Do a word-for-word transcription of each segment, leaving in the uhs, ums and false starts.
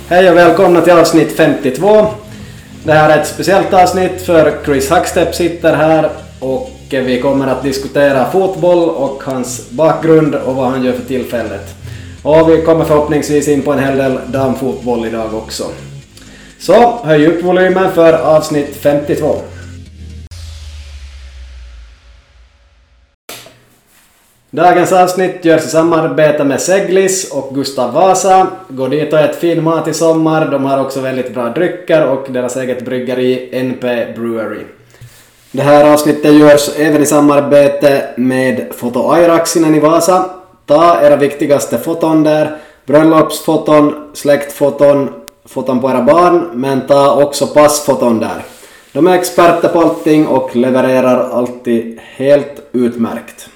Hej och välkomna till avsnitt femtiotvå. Det här är ett speciellt avsnitt för Chris Hackstepp sitter här och vi kommer att diskutera fotboll och hans bakgrund och vad han gör för tillfället. Och vi kommer förhoppningsvis in på en hel del damfotboll idag också. Så höj upp volymen för avsnitt femtiotvå. Dagens avsnitt görs i samarbete med Seglis och Gustav Vasa. Gå dit och ät fin mat i sommar. De har också väldigt bra drycker och deras eget bryggeri N P Brewery. Det här avsnittet görs även i samarbete med Foto Airaxinen i Vasa. Ta era viktigaste foton där. Bröllopsfoton, släktfoton, foton på era barn. Men ta också passfoton där. De är experter på allting och levererar alltid helt utmärkt.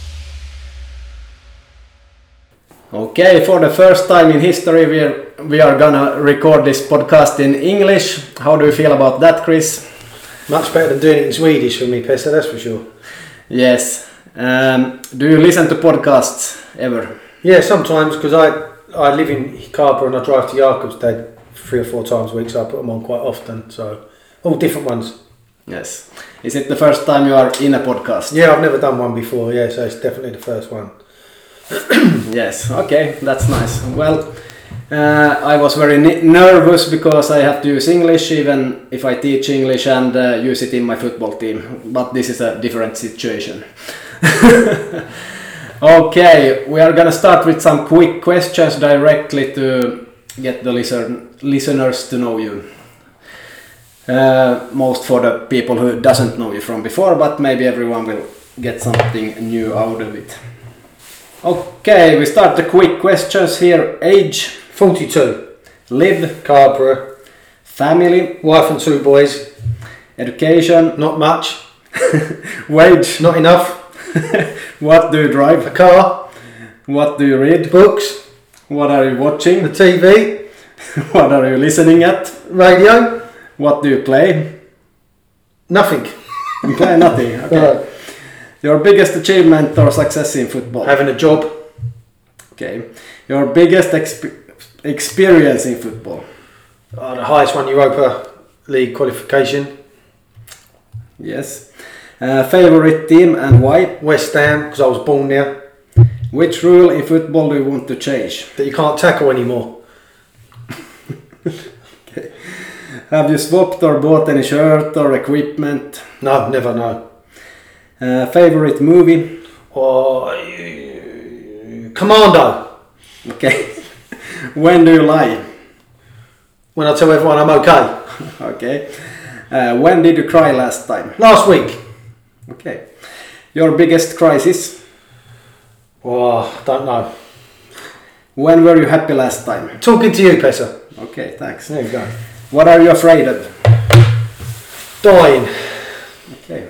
Okay, for the first time in history we are, we are gonna record this podcast in English. How do you feel about that, Chris? Much better than doing it in Swedish for me, Pessa, that's for sure. Yes. Um, do you listen to podcasts ever? Yeah, sometimes, because I, I live in Hikapa and I drive to Jakobstad three or four times a week, so I put them on quite often. So, all different ones. Yes. Is it the first time you are in a podcast? Yeah, I've never done one before, yeah, so it's definitely the first one. Yes, okay, that's nice. Well, uh, I was very n- nervous because I have to use English even if I teach English and uh, use it in my football team. But this is a different situation. Okay, we are gonna start with some quick questions directly to get the listen- listeners to know you. Uh, most for the people who doesn't know you from before, but maybe everyone will get something new out of it. Okay, we start the quick questions here. Age? forty-two. Live? Carpera. Family? Wife and two boys. Education? Not much. Wage? Not enough. What do you drive? A car. What do you read? Books. What are you watching? The T V. What are you listening at? Radio. What do you play? Nothing. You play nothing, okay. No. Your biggest achievement or success in football? Having a job. Okay. Your biggest exp- experience in football? Oh, the highest one, Europa League qualification. Yes. Uh, favorite team and why? West Ham, because I was born there. Which rule in football do you want to change? That you can't tackle anymore. Okay. Have you swapped or bought any shirt or equipment? No, never, no. Uh, favorite movie? Or uh, Commando. Okay. When do you lie? When I tell everyone I'm okay. Okay. Uh, when did you cry last time? Last week. Okay. Your biggest crisis? Oh, don't know. When were you happy last time? Talking to you, Pessa. Okay, thanks. There you go. What are you afraid of? Dying. Okay.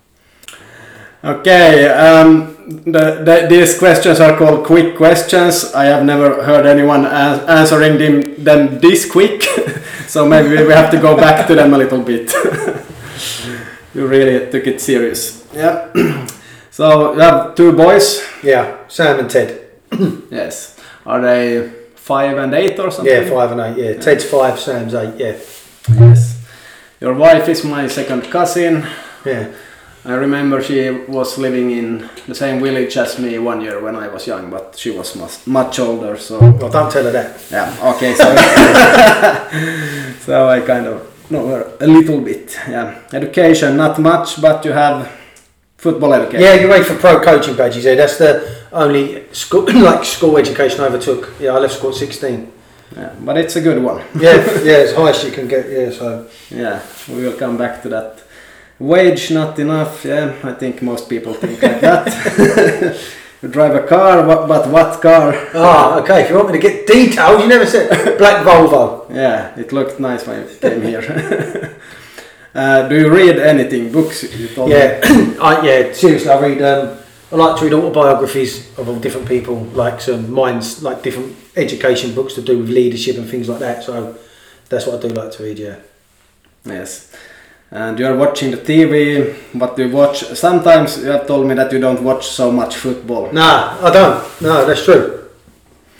Okay, um, the, the, these questions are called quick questions. I have never heard anyone a- answering them, them this quick, so maybe we have to go back to them a little bit. You really took it serious. Yeah. So you have two boys? Yeah, Sam and Ted. Yes. Are they five and eight or something? Yeah, five and eight, yeah. Ted's five, Sam's eight, yeah. Yes. Your wife is my second cousin. Yeah. I remember she was living in the same village as me one year when I was young, but she was much, much older, so... Well, don't tell her that. Yeah, okay, so... so I kind of know her a little bit, yeah. Education, not much, but you have football education. Yeah, you're ready for pro coaching badges, yeah. That's the only school, like school education I ever took. Yeah, I left school at sixteen. Yeah, but it's a good one. Yeah, yeah, it's highest you can get, yeah, so... Yeah, we will come back to that. Wage not enough, yeah, I think most people think like that. You drive a car, what, but what car? Ah, okay, if you want me to get details, you never said black Volvo. Yeah, it looked nice when you came here. uh, do you read anything? Books? You told Yeah, me. I, yeah, seriously, I read, um, I like to read autobiographies of all different people, like some minds, like different education books to do with leadership and things like that, so that's what I do like to read, yeah. Yes. And you are watching the T V, but you watch, sometimes you have told me that you don't watch so much football. Nah, I don't. No, that's true.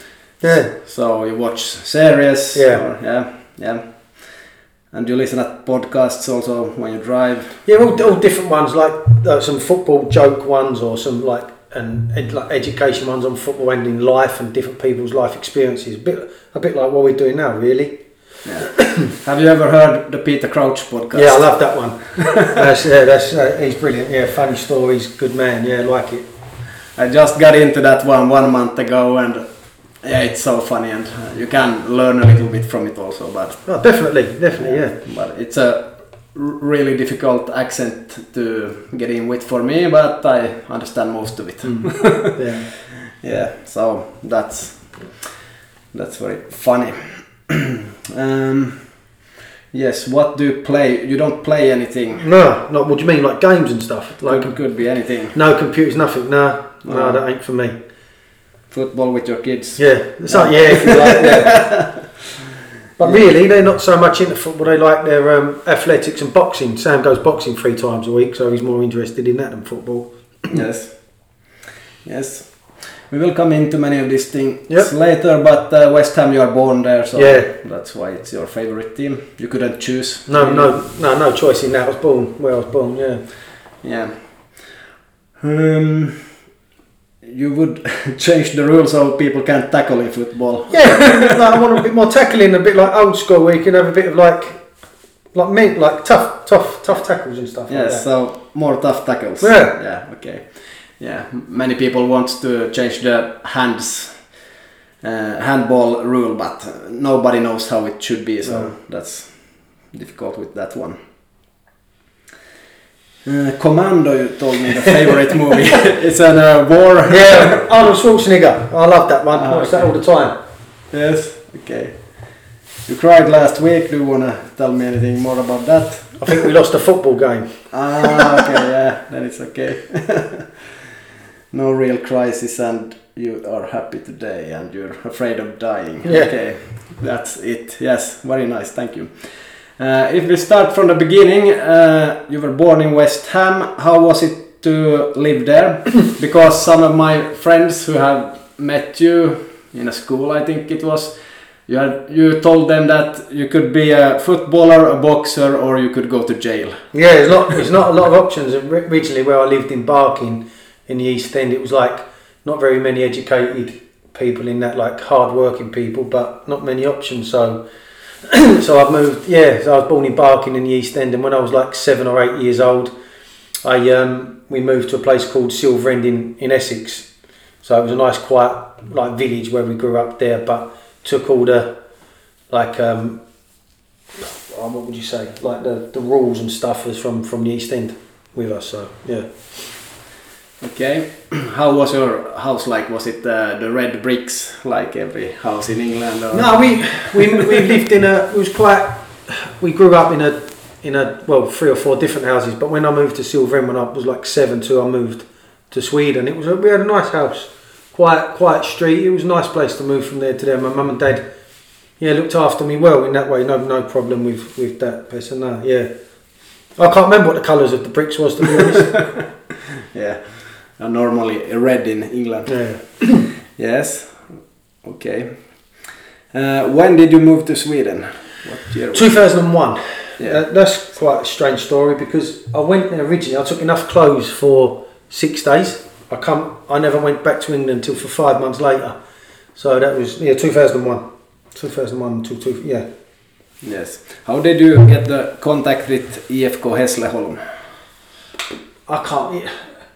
Yeah. So you watch series. Yeah. Or, yeah. Yeah. And you listen at podcasts also when you drive. Yeah, all, all different ones, like uh, some football joke ones or some like and ed, like education ones on football and in life and different people's life experiences. A bit, a bit like what we're doing now, really. Yeah. Have you ever heard the Peter Crouch podcast? Yeah, I love that one. that's, yeah, that's uh, he's brilliant. Yeah, funny stories, good man. Yeah, like it. I just got into that one one month ago, and yeah, it's so funny, and uh, you can learn a little bit from it also. But oh, definitely, definitely, yeah. yeah. But it's a r- really difficult accent to get in with for me, but I understand most of it. Mm. Yeah, yeah. So that's that's very funny. um, yes. What do you play? You don't play anything. No, not what do you mean, like games and stuff? Like could, could be anything. No computers, nothing. No, no, Oh. that ain't for me. Football with your kids. Yeah, it's like yeah, if you like, yeah. But Yeah. really, they're not so much into football. They like their um, athletics and boxing. Sam goes boxing three times a week, so he's more interested in that than football. Yes. Yes. We will come into many of these things Yep. later, but uh, West Ham, you are born there, so Yeah. that's why it's your favorite team. You couldn't choose. No, no, no, no choice in that. I was born where I was born. Yeah. Yeah. Um, you would change the rules so people can't tackle in football. Yeah, like, I want a bit more tackling, a bit like old school, where you can have a bit of like, like men, like tough, tough, tough tackles and stuff. Yes, like that. so more tough tackles. Yeah. Yeah, okay. Yeah, m- many people want to change the hands, uh, handball rule, but uh, nobody knows how it should be, so No. that's difficult with that one. Uh, Commando, you told me the favorite movie. It's a uh, war. Yeah, Arnold Schwarzenegger. I love that one. Ah, I watch that okay. all the time. Yes, okay. You cried last week. Do you wanna tell me anything more about that? I think we lost a football game. Ah, okay, yeah, then it's okay. No real crisis, and you are happy today, and you're afraid of dying. Yeah. Okay, that's it. Yes, very nice, thank you. Uh, if we start from the beginning, uh, you were born in West Ham. How was it to live there? Because some of my friends who have met you in a school, I think it was, you had, you told them that you could be a footballer, a boxer, or you could go to jail. Yeah, there's not there's not a lot of options. Originally, where I lived in Barking in the East End, it was like not very many educated people in that, like hard working people, but not many options. So, so I've moved. Yeah, so I was born in Barking in the East End, and when I was like seven or eight years old, I um we moved to a place called Silverend in in Essex. So it was a nice, quiet like village where we grew up there, but took all the like um oh, what would you say, like the, the rules and stuff was from from the East End with us. So yeah. Okay, how was your house like? Was it uh, the red bricks like every house in England? Or? No, we we we lived in a. It was quite. We grew up in a in a well three or four different houses. But when I moved to Silverend when I was like seven, two, I moved to Sweden. It was a, we had a nice house, quiet quiet street. It was a nice place to move from there to there. My mum and dad, yeah, looked after me well in that way. No no problem with with that person. No, yeah. I can't remember what the colours of the bricks was, to be honest. Yeah, uh, normally red in England. Yeah. Yes. Okay. Uh, when did you move to Sweden? What year? was it? two thousand one. Yeah. Uh, that's quite a strange story because I went there originally. I took enough clothes for six days. I come. I never went back to England until for five months later. So that was yeah, two thousand one. two thousand one to two. Yeah. Yes. How did you get the contact with I F K Hässleholm? I can't. Yeah.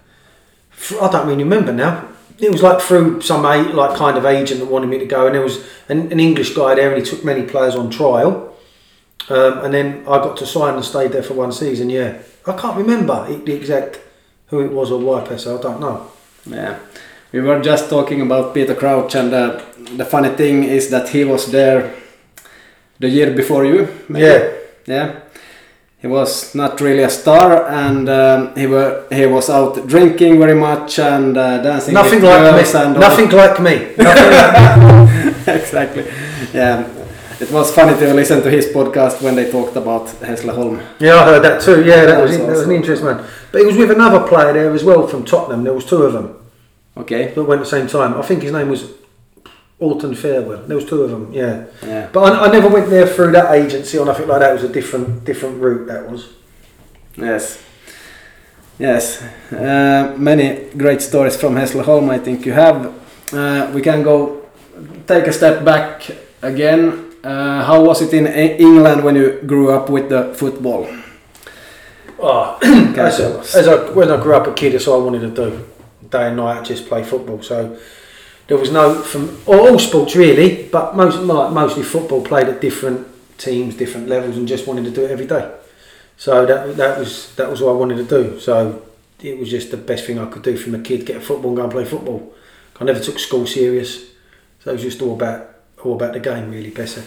I don't really remember now. It was like through some a- like kind of agent that wanted me to go, and there was an, an English guy there, and he took many players on trial. Um, and then I got to sign and stayed there for one season. Yeah, I can't remember the exact who it was or why per se. I don't know. Yeah. We were just talking about Peter Crouch, and uh, the funny thing is that he was there the year before you. Maybe? Yeah. Yeah. He was not really a star, and um, he were he was out drinking very much and uh, dancing. Nothing with like girls me. and all. Nothing like me. Nothing Exactly. Yeah. It was funny to listen to his podcast when they talked about Hässleholm. Yeah, I heard that too. Yeah, that was That was that was an awesome. interesting one. But he was with another player there as well from Tottenham. There was two of them Okay. that went at the same time. I think his name was Alton Farewell. There was two of them, yeah. Yeah. But I, I never went there through that agency or nothing like that. It was a different different route, that was. Yes. Yes. Uh, many great stories from Hässleholm, I think you have. Uh, we can go take a step back again. Uh, how was it in E- England when you grew up with the football? Oh, as, a, as I, when I grew up a kid, that's all I wanted to do. Day and night, just play football. So there was no, from all, all sports really, but most like, mostly football. Played at different teams, different levels, and just wanted to do it every day. So that that was that was what I wanted to do. So it was just the best thing I could do from a kid: get a football and go and play football. I never took school serious, so it was just all about all about the game, really, Pesse.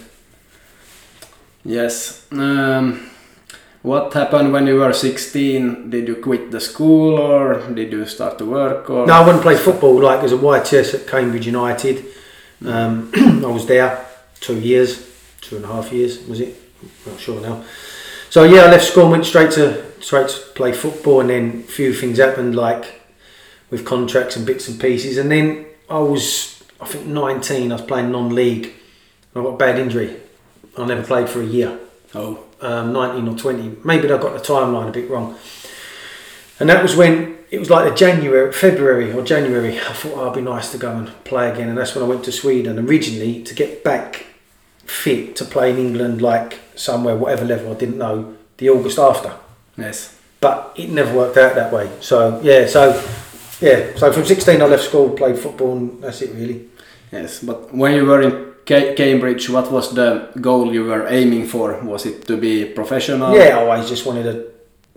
Yes. Um, what happened when you were sixteen? Did you quit the school or did you start to work? Or? No, I wouldn't play football. Like as a Y T S at Cambridge United, um, I was there two years, two and a half years was it? Not sure now. So yeah, I left school and went straight to straight to play football, and then a few things happened, like with contracts and bits and pieces, and then I was, I think nineteen. I was playing non-league. I got a bad injury. I never played for a year. Oh. Um, nineteen or twenty. Maybe I got the timeline a bit wrong. And that was when, it was like the January, February or January. I thought oh, it'd be nice to go and play again. And that's when I went to Sweden originally to get back fit to play in England, like somewhere, whatever level, I didn't know, the August after. Yes. But it never worked out that way. So, yeah, so, yeah. So from sixteen I left school, played football, and that's it really. Yes, but when you were in Ca- Cambridge, what was the goal you were aiming for? Was it to be professional? Yeah, I always just wanted to.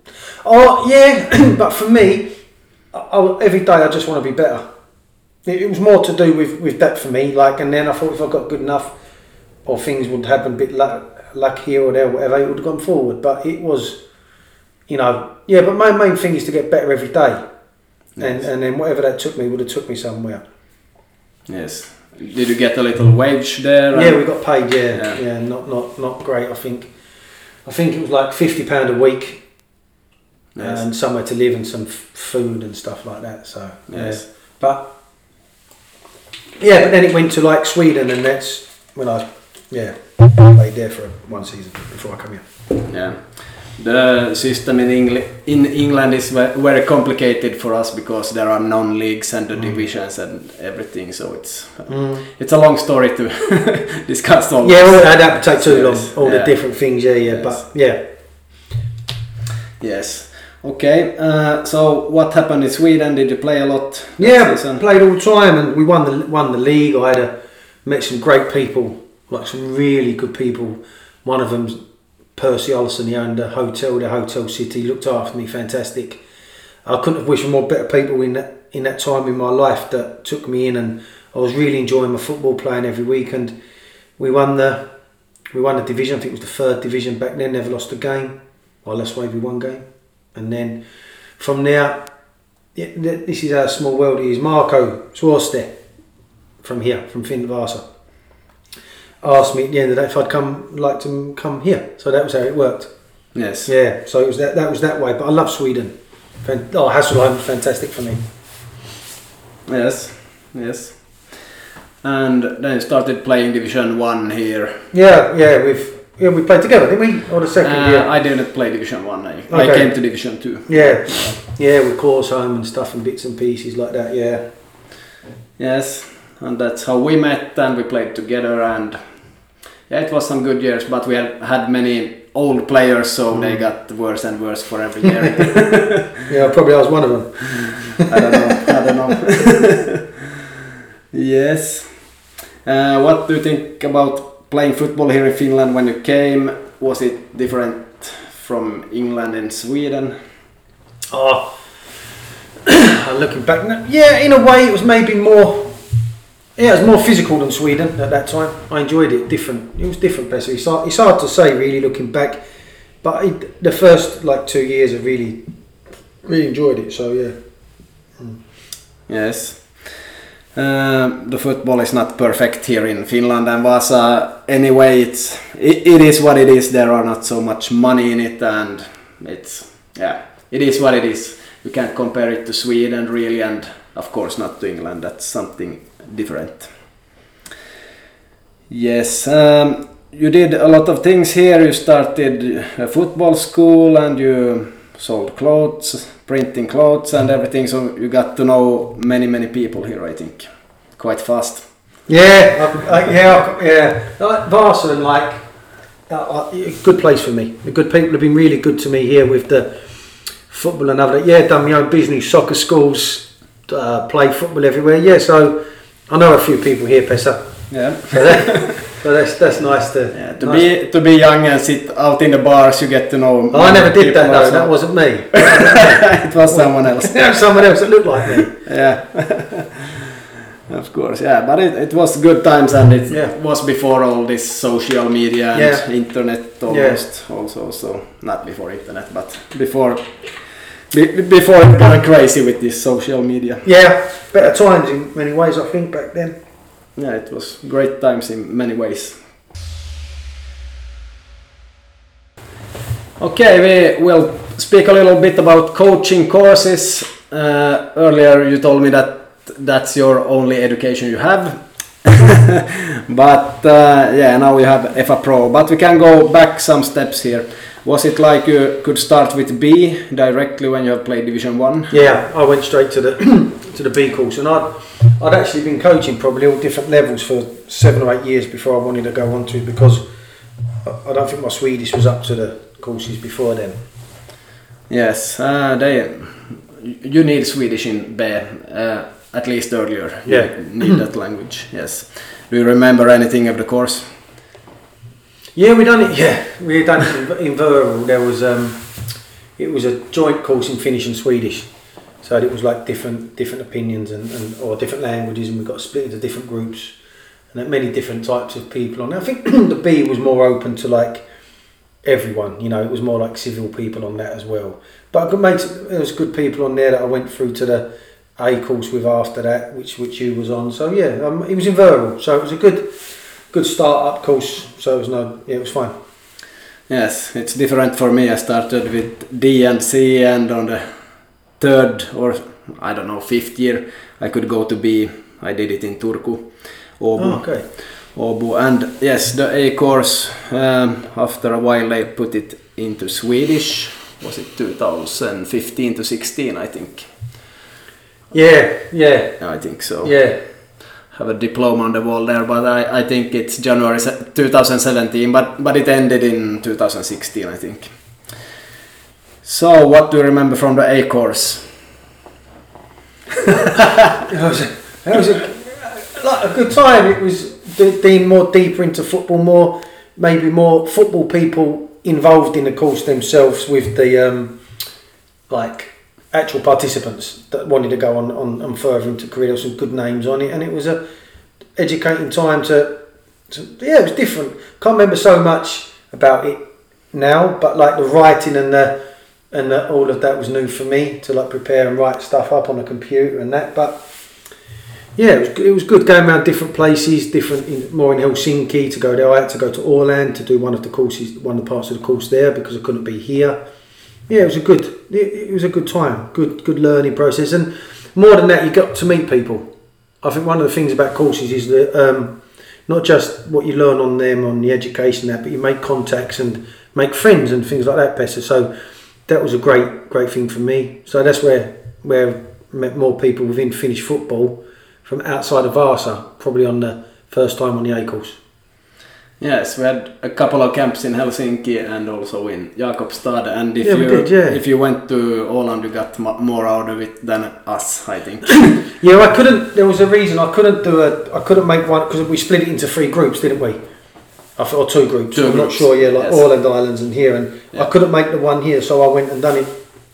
Oh yeah, but for me, I, I, every day I just want to be better. It, it was more to do with, with that for me. Like, and then I thought if I got good enough, or things would happen a bit luck, luck here or there, whatever, it would have gone forward. But it was, you know, yeah. But my main thing is to get better every day, yes. and and then whatever that took me would have took me somewhere. Yes. Did you get a little wage there? Yeah, we got paid. Yeah, yeah, yeah, not not not great. I think, I think it was like fifty pound a week, yes. and somewhere to live and some f- food and stuff like that. So yes, yeah. but yeah, but then it went to like Sweden, and that's when I yeah played there for one season before I come here. Yeah. The system in, Engl- in England is very complicated for us because there are non-leagues and the mm. divisions and everything, so it's uh, mm. it's a long story to discuss all. Yeah, all that would take too long. All yeah. the different things, yeah, yeah, yes. but yeah. Yes. Okay. Uh, so what happened in Sweden? Did you play a lot? Yeah, season? played all the time, and we won the won the league. I had a, met some great people, like some really good people. One of them's Percy Olsen. He owned a hotel, the Hotel City, looked after me, fantastic. I couldn't have wished for more better people in that in that time in my life that took me in, and I was really enjoying my football, playing every week, and we won the we won the division. I think it was the third division back then. Never lost a game. I lost maybe one game, and then from there, yeah, this is how small world it is. Marco Swarste from here, from Finnvasa, asked me at the end of the day if I'd come like to come here. So that was how it worked. Yes. Yeah. So it was that that was that way. But I love Sweden. Oh, Hässleholm, fantastic for me. Yes. Yes. And then you started playing Division One here. Yeah. Yeah. We've yeah we played together, didn't we? Or the second uh, year? I didn't play Division One. I, okay. I came to Division Two. Yeah. Yeah, with Korsholm and stuff and bits and pieces like that. Yeah. Yes. And that's how we met, and we played together, and yeah, it was some good years, but we had had many old players, so mm. they got worse and worse for every year. Yeah, probably I was one of them. I don't know. I don't know. Yes. Uh, what do you think about playing football here in Finland when you came? Was it different from England and Sweden? Oh, looking back, yeah, in a way it was maybe more. Yeah, it was more physical than Sweden at that time. I enjoyed it. Different. It was different, basically. It's hard, it's hard to say, really, looking back. But it, the first like two years, I really, really enjoyed it. So yeah. Mm. Yes. Uh, the football is not perfect here in Finland and Vasa. Anyway, it's it, it is what it is. There are not so much money in it, and it's yeah, it is what it is. You can't compare it to Sweden really, and of course not to England. That's something different. Yes, um, you did a lot of things here. You started a football school and you sold clothes, printing clothes and everything. So you got to know many, many people here, I think, quite fast. Yeah, I, I, yeah, yeah. Like Vasa, like uh, a good place for me. The good people have been really good to me here with the football and other. Yeah, done my own business, soccer schools, uh, play football everywhere. Yeah, so I know a few people here, Pessa. Yeah. So, that, so that's that's nice to yeah, to nice be to be young and sit out in the bars. You get to know. Oh, I never did that though. That wasn't me. It was someone else. It was someone else that looked like me. Yeah. Of course, yeah, but it, it was good times and it yeah. was before all this social media and yeah. internet almost yeah. also, so not before internet, but before be, before it got crazy with this social media. Yeah, better times in many ways I think back then. Yeah, it was great times in many ways. Okay, we will speak a little bit about coaching courses. Uh, earlier you told me that that's your only education you have. But uh, yeah, now you have F A Pro. But we can go back some steps here. Was it like you could start with B directly when you have played Division One? Yeah, I went straight to the to the B course, and I'd I'd actually been coaching probably all different levels for seven or eight years before I wanted to go on to, because I don't think my Swedish was up to the courses before then. Yes, uh, they you need Swedish in B. Uh, At least earlier, yeah. You need that language. Yes. Do you remember anything of the course? Yeah, we done it. Yeah, we done it in, in Vöral. There was um, it was a joint course in Finnish and Swedish, so it was like different different opinions and, and or different languages, and we got split into different groups and many different types of people. And I think the B was more open to like everyone. You know, it was more like civil people on that as well. But I could make there was good people on there that I went through to the A course with after that, which which you was on. So yeah, um, it was in Vöral, so it was a good good start up course. So it was no, yeah, it was fine. Yes, it's different for me. I started with D and C, and on the third or I don't know fifth year I could go to B. I did it in Turku, Åbo. Oh, okay. Åbo, and yes, the A course. Um, after a while, they put it into Swedish. Was it two thousand fifteen to sixteen? I think. Yeah, yeah. I think so. Yeah. Have a diploma on the wall there, but I, I think it's January twenty seventeen, but, but it ended in two thousand sixteen, I think. So, what do you remember from the A course? it was, a, it was a, like a good time. It was being more deeper into football, more maybe more football people involved in the course themselves with the um, like actual participants that wanted to go on, on, on further into career. There were some good names on it, and it was a educating time to, to yeah, it was different. Can't remember so much about it now, but like the writing and the and the, all of that was new for me to like prepare and write stuff up on a computer and that. But yeah, it was it was good going around different places, different in, more in Helsinki to go there. I had to go to Åland to do one of the courses, one of the parts of the course there because I couldn't be here. Yeah, it was a good it, it was a good time, good good learning process, and more than that, you got to meet people. I think one of the things about courses is that um, not just what you learn on them, on the education that, but you make contacts and make friends and things like that, Pessa. So that was a great great thing for me. So that's where where I met more people within Finnish football from outside of Vasa, probably on the first time on the A course. Yes, we had a couple of camps in Helsinki and also in Jakobstad, and if yeah, you did, yeah. if you went to Åland, you got more out of it than us, I think. Yeah, I couldn't. There was a reason I couldn't do a. I couldn't make one because we split it into three groups, didn't we? I thought, or two groups. Two I'm groups. not sure. Yeah, like yes. Åland Islands and here, and yeah. I couldn't make the one here, so I went and done it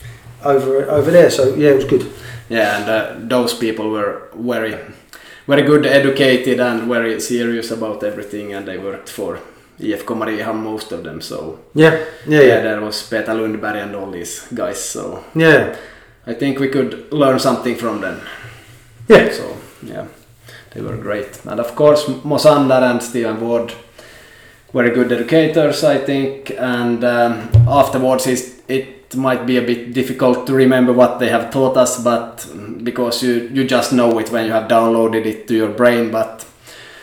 over over there. So yeah, it was good. Yeah, and uh, those people were very, very good, educated, and very serious about everything, and they worked for I F K Mariehamn, most of them. So yeah, yeah, yeah. yeah there was Peter Lundberg and all these guys. So yeah, I think we could learn something from them. Yeah. So yeah, they were great, and of course Mosander and Steven Ward, very good educators, I think. And um, afterwards, it, it might be a bit difficult to remember what they have taught us, but because you you just know it when you have downloaded it to your brain. But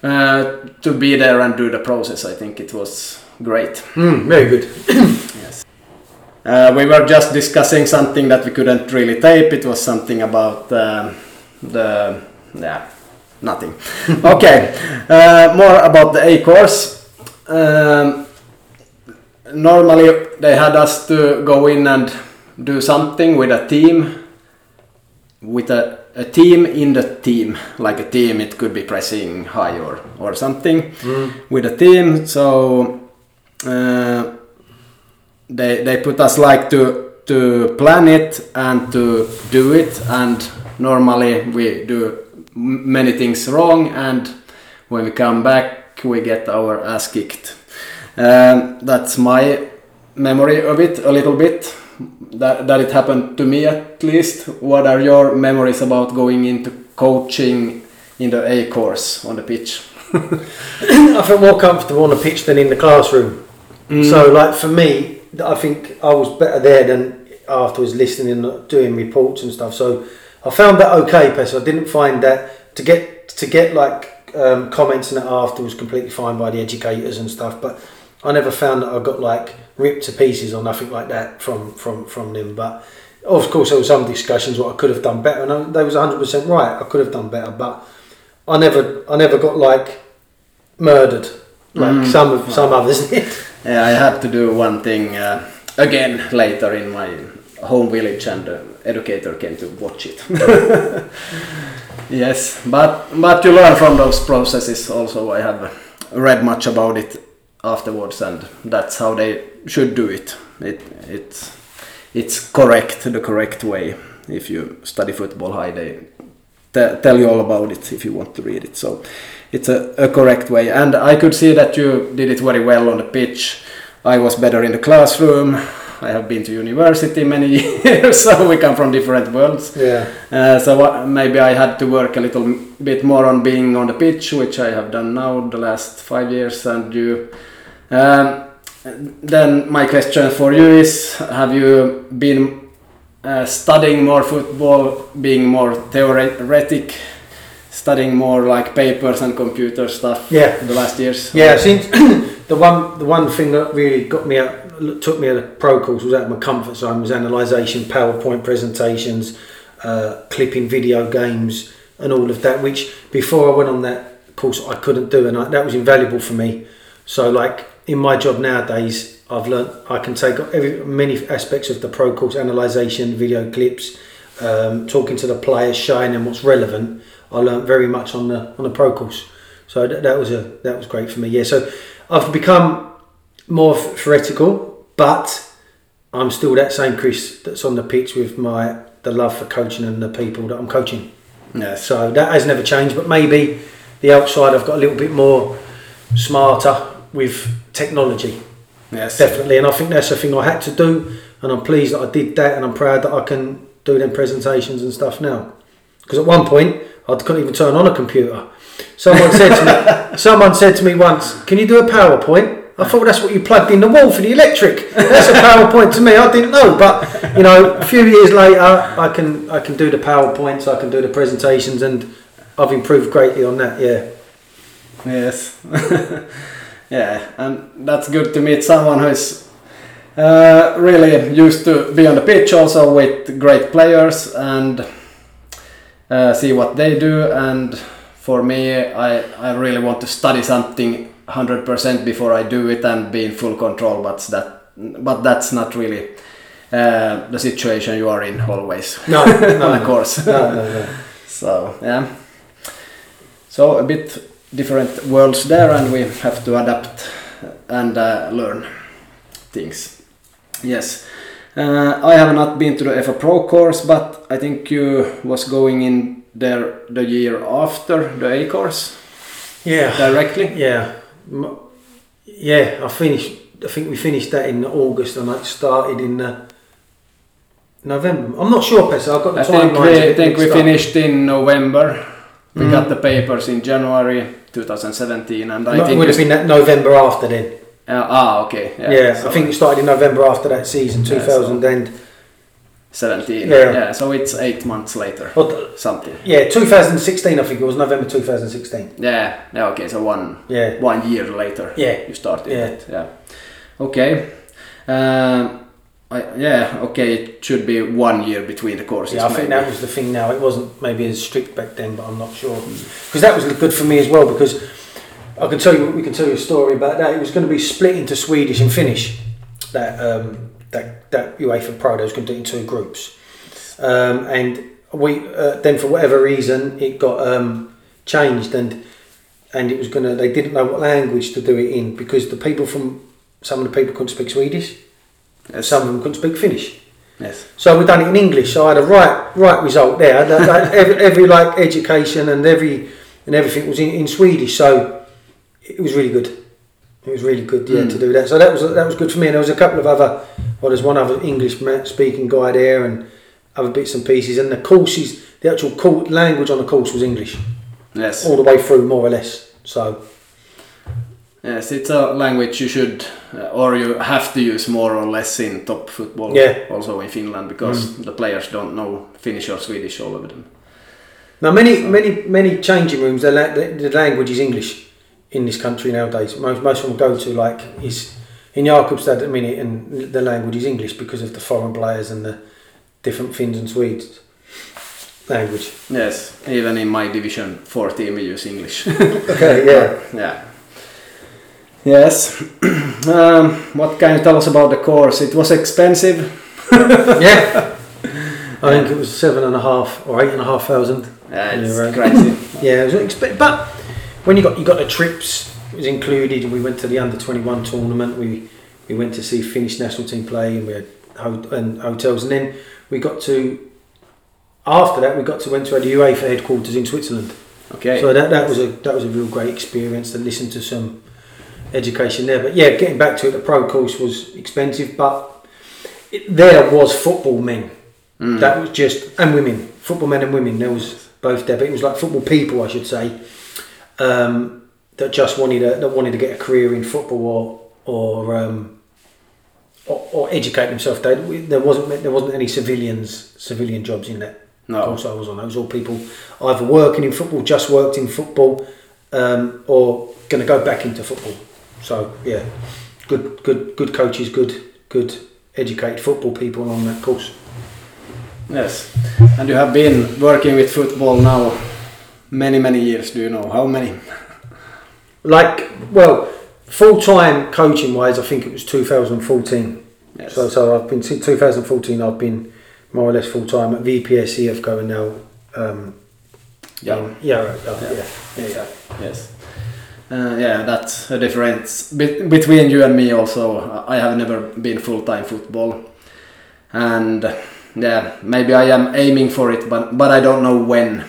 uh, to be there and do the process. I think it was great. Mm, very good. Yes. Uh, we were just discussing something that we couldn't really tape. It was something about um, the yeah nothing. Okay, uh, more about the A course. Um, normally they had us to go in and do something with a team, with a, a team in the team, like a team. It could be pressing high or or something mm. with a team. So. Uh, They they put us like to to plan it and to do it, and normally we do many things wrong, and when we come back we get our ass kicked. Um, that's my memory of it a little bit. That that it happened to me at least. What are your memories about going into coaching in the A course on the pitch? I felt more comfortable on the pitch than in the classroom. Mm. So like for me, I think I was better there than afterwards listening and doing reports and stuff. So I found that okay, Pes. I didn't find that to get to get like um, comments and that after was completely fine by the educators and stuff. But I never found that I got like ripped to pieces or nothing like that from from from them. But of course there were some discussions what I could have done better, and I, they was one hundred percent right. I could have done better, but I never I never got like murdered like mm. some of some others did. Yeah, I had to do one thing uh, again later in my home village, and the educator came to watch it. Yes, but but you learn from those processes also. I have read much about it afterwards, and that's how they should do it. It it's it's correct, the correct way. If you study football high, they t- tell you all about it if you want to read it. So it's a, a correct way, and I could see that you did it very well on the pitch. I was better in the classroom. I have been to university many years, so we come from different worlds. Yeah. Uh, so what, maybe I had to work a little bit more on being on the pitch, which I have done now the last five years. And you, um, then my question for you is: have you been uh, studying more football, being more theoretic? Studying more like papers and computer stuff yeah. the last years? Yeah, since the one the one thing that really got me out, took me out of pro course was out of my comfort zone was analysation, PowerPoint presentations, uh, clipping video games and all of that, which before I went on that course I couldn't do, and I, that was invaluable for me. So like in my job nowadays I've learnt I can take every, many aspects of the pro course, analysation, video clips, um, talking to the players, showing them what's relevant. I learned very much on the on the pro course, so that, that was a that was great for me. Yeah, so I've become more theoretical, but I'm still that same Chris that's on the pitch with my the love for coaching and the people that I'm coaching. Yeah. So that has never changed, but maybe the outside I've got a little bit more smarter with technology. Yes, definitely, and I think that's the thing I had to do, and I'm pleased that I did that, and I'm proud that I can do them presentations and stuff now. Because at one point I couldn't even turn on a computer. Someone said to me, someone said to me once, "Can you do a PowerPoint?" I thought that's what you plugged in the wall for the electric. That's a PowerPoint to me. I didn't know, but you know, a few years later, I can I can do the PowerPoints, I can do the presentations, and I've improved greatly on that. Yeah. Yes. Yeah, and that's good to meet someone who's uh, really used to be on the pitch, also with great players, and Uh, see what they do. And for me, I, I really want to study something one hundred percent before I do it and be in full control, but that but that's not really uh, the situation you are in always. No, no, on a course. No, no, no. So yeah, so a bit different worlds there, and we have to adapt and uh, learn things. Yes. Uh, I have not been to the F A Pro course, but I think you was going in there the year after the A course. Yeah. Directly. Yeah. Yeah. I finished. I think we finished that in August, and I started in uh, November. I'm not sure, Pes. I've got the I think timeline. we, I think we start. finished in November. We mm. got the papers in January twenty seventeen, and I no, think it would have been that November after then. Uh, ah, okay. Yeah, yeah, so I think it started in November after that season, two thousand seventeen. Yeah. Yeah, so it's eight months later. Well, something. Yeah, twenty sixteen. I think it was November twenty sixteen. Yeah. Yeah. Okay. So one. Yeah. One year later. Yeah. You started. Yeah. It. Yeah. Okay. Um, I, yeah. Okay. It should be one year between the courses. Yeah, I maybe. think that was the thing. Now it wasn't maybe as strict back then, but I'm not sure because that was good for me as well because I can tell you we can tell you a story about that. It was going to be split into Swedish and Finnish. That um, that that UEFA Pro, they was going to do it in two groups, um, and we uh, then for whatever reason it got um, changed and and it was gonna they didn't know what language to do it in because the people from some of the people couldn't speak Swedish, Yes. some of them couldn't speak Finnish. Yes. So we done it in English. So I had a right right result there. That, that, every, every like education and every and everything was in, in Swedish. So it was really good. It was really good, yeah, mm. to do that. So that was that was good for me. And there was a couple of other. Well, there's one other English speaking guy there, and other bits and pieces. And the courses, the actual course, language on the course was English. Yes. All the way through, more or less. So. Yes, it's a language you should, uh, or you have to use more or less in top football. Yeah. Also in Finland, because mm. the players don't know Finnish or Swedish, all of them. Now, many, so. many, many changing rooms. The, la- the, the language is English in this country nowadays. Most, most of them go to like is in Jakobstad at the minute, and the language is English because of the foreign players and the different Finns and Swedes language. Yes, even in my Division Four team we use English. Okay, yeah, yeah. Yes. um, what can you tell us about the course? It was expensive. Yeah. I think it was seven and a half or eight and a half thousand. Yeah, it's yeah, crazy. Yeah, it was expensive. But when you got you got the trips, it was included. We went to the under twenty-one tournament. We we went to see Finnish national team play, and we had ho- and hotels. And then we got to after that we got to went to the UEFA headquarters in Switzerland. Okay. So that that was a that was a real great experience to listen to some education there. But yeah, getting back to it, the pro course was expensive, but it, there was football men. Mm. That was just and women, football men and women. There was both there, but it was like football people, I should say, um, that just wanted a, that wanted to get a career in football or or um, or, or educate themselves. They, there wasn't there wasn't any civilians civilian jobs in that no. course I was on. It was all people either working in football, just worked in football, um, or going to go back into football. So yeah, good good good coaches, good good educated football people on that course. Yes, and you have been working with football now many many years. Do you know how many? Like, well, full time coaching wise, I think it was two thousand fourteen. Yes. So so I've been since two thousand fourteen. I've been more or less full time at V P S E F going now. Um, yeah. In, yeah, right, uh, yeah, yeah, yeah, yeah. Yes. Uh, yeah, that's a difference Be- between you and me. Also, I have never been full time football, and. Yeah, maybe I am aiming for it, but but I don't know when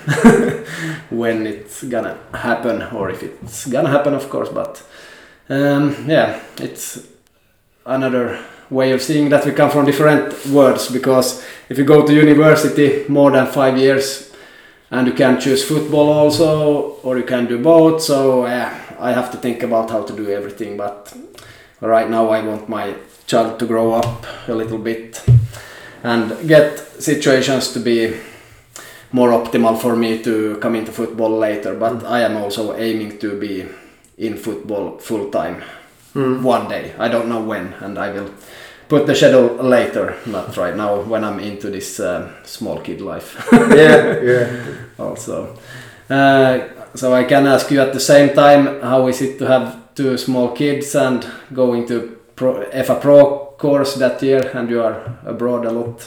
when it's gonna happen, or if it's gonna happen, of course. But um, yeah, it's another way of seeing that we come from different worlds. Because if you go to university more than five years, and you can choose football also, or you can do both. So yeah, I have to think about how to do everything. But right now, I want my child to grow up a little bit and get situations to be more optimal for me to come into football later. But I am also aiming to be in football full time mm. one day. I don't know when, and I will put the schedule later, not right now when I'm into this uh, small kid life. yeah, yeah. Also, uh, so I can ask you at the same time, how is it to have two small kids and going to pro, F A Pro course that year, and you are abroad a lot?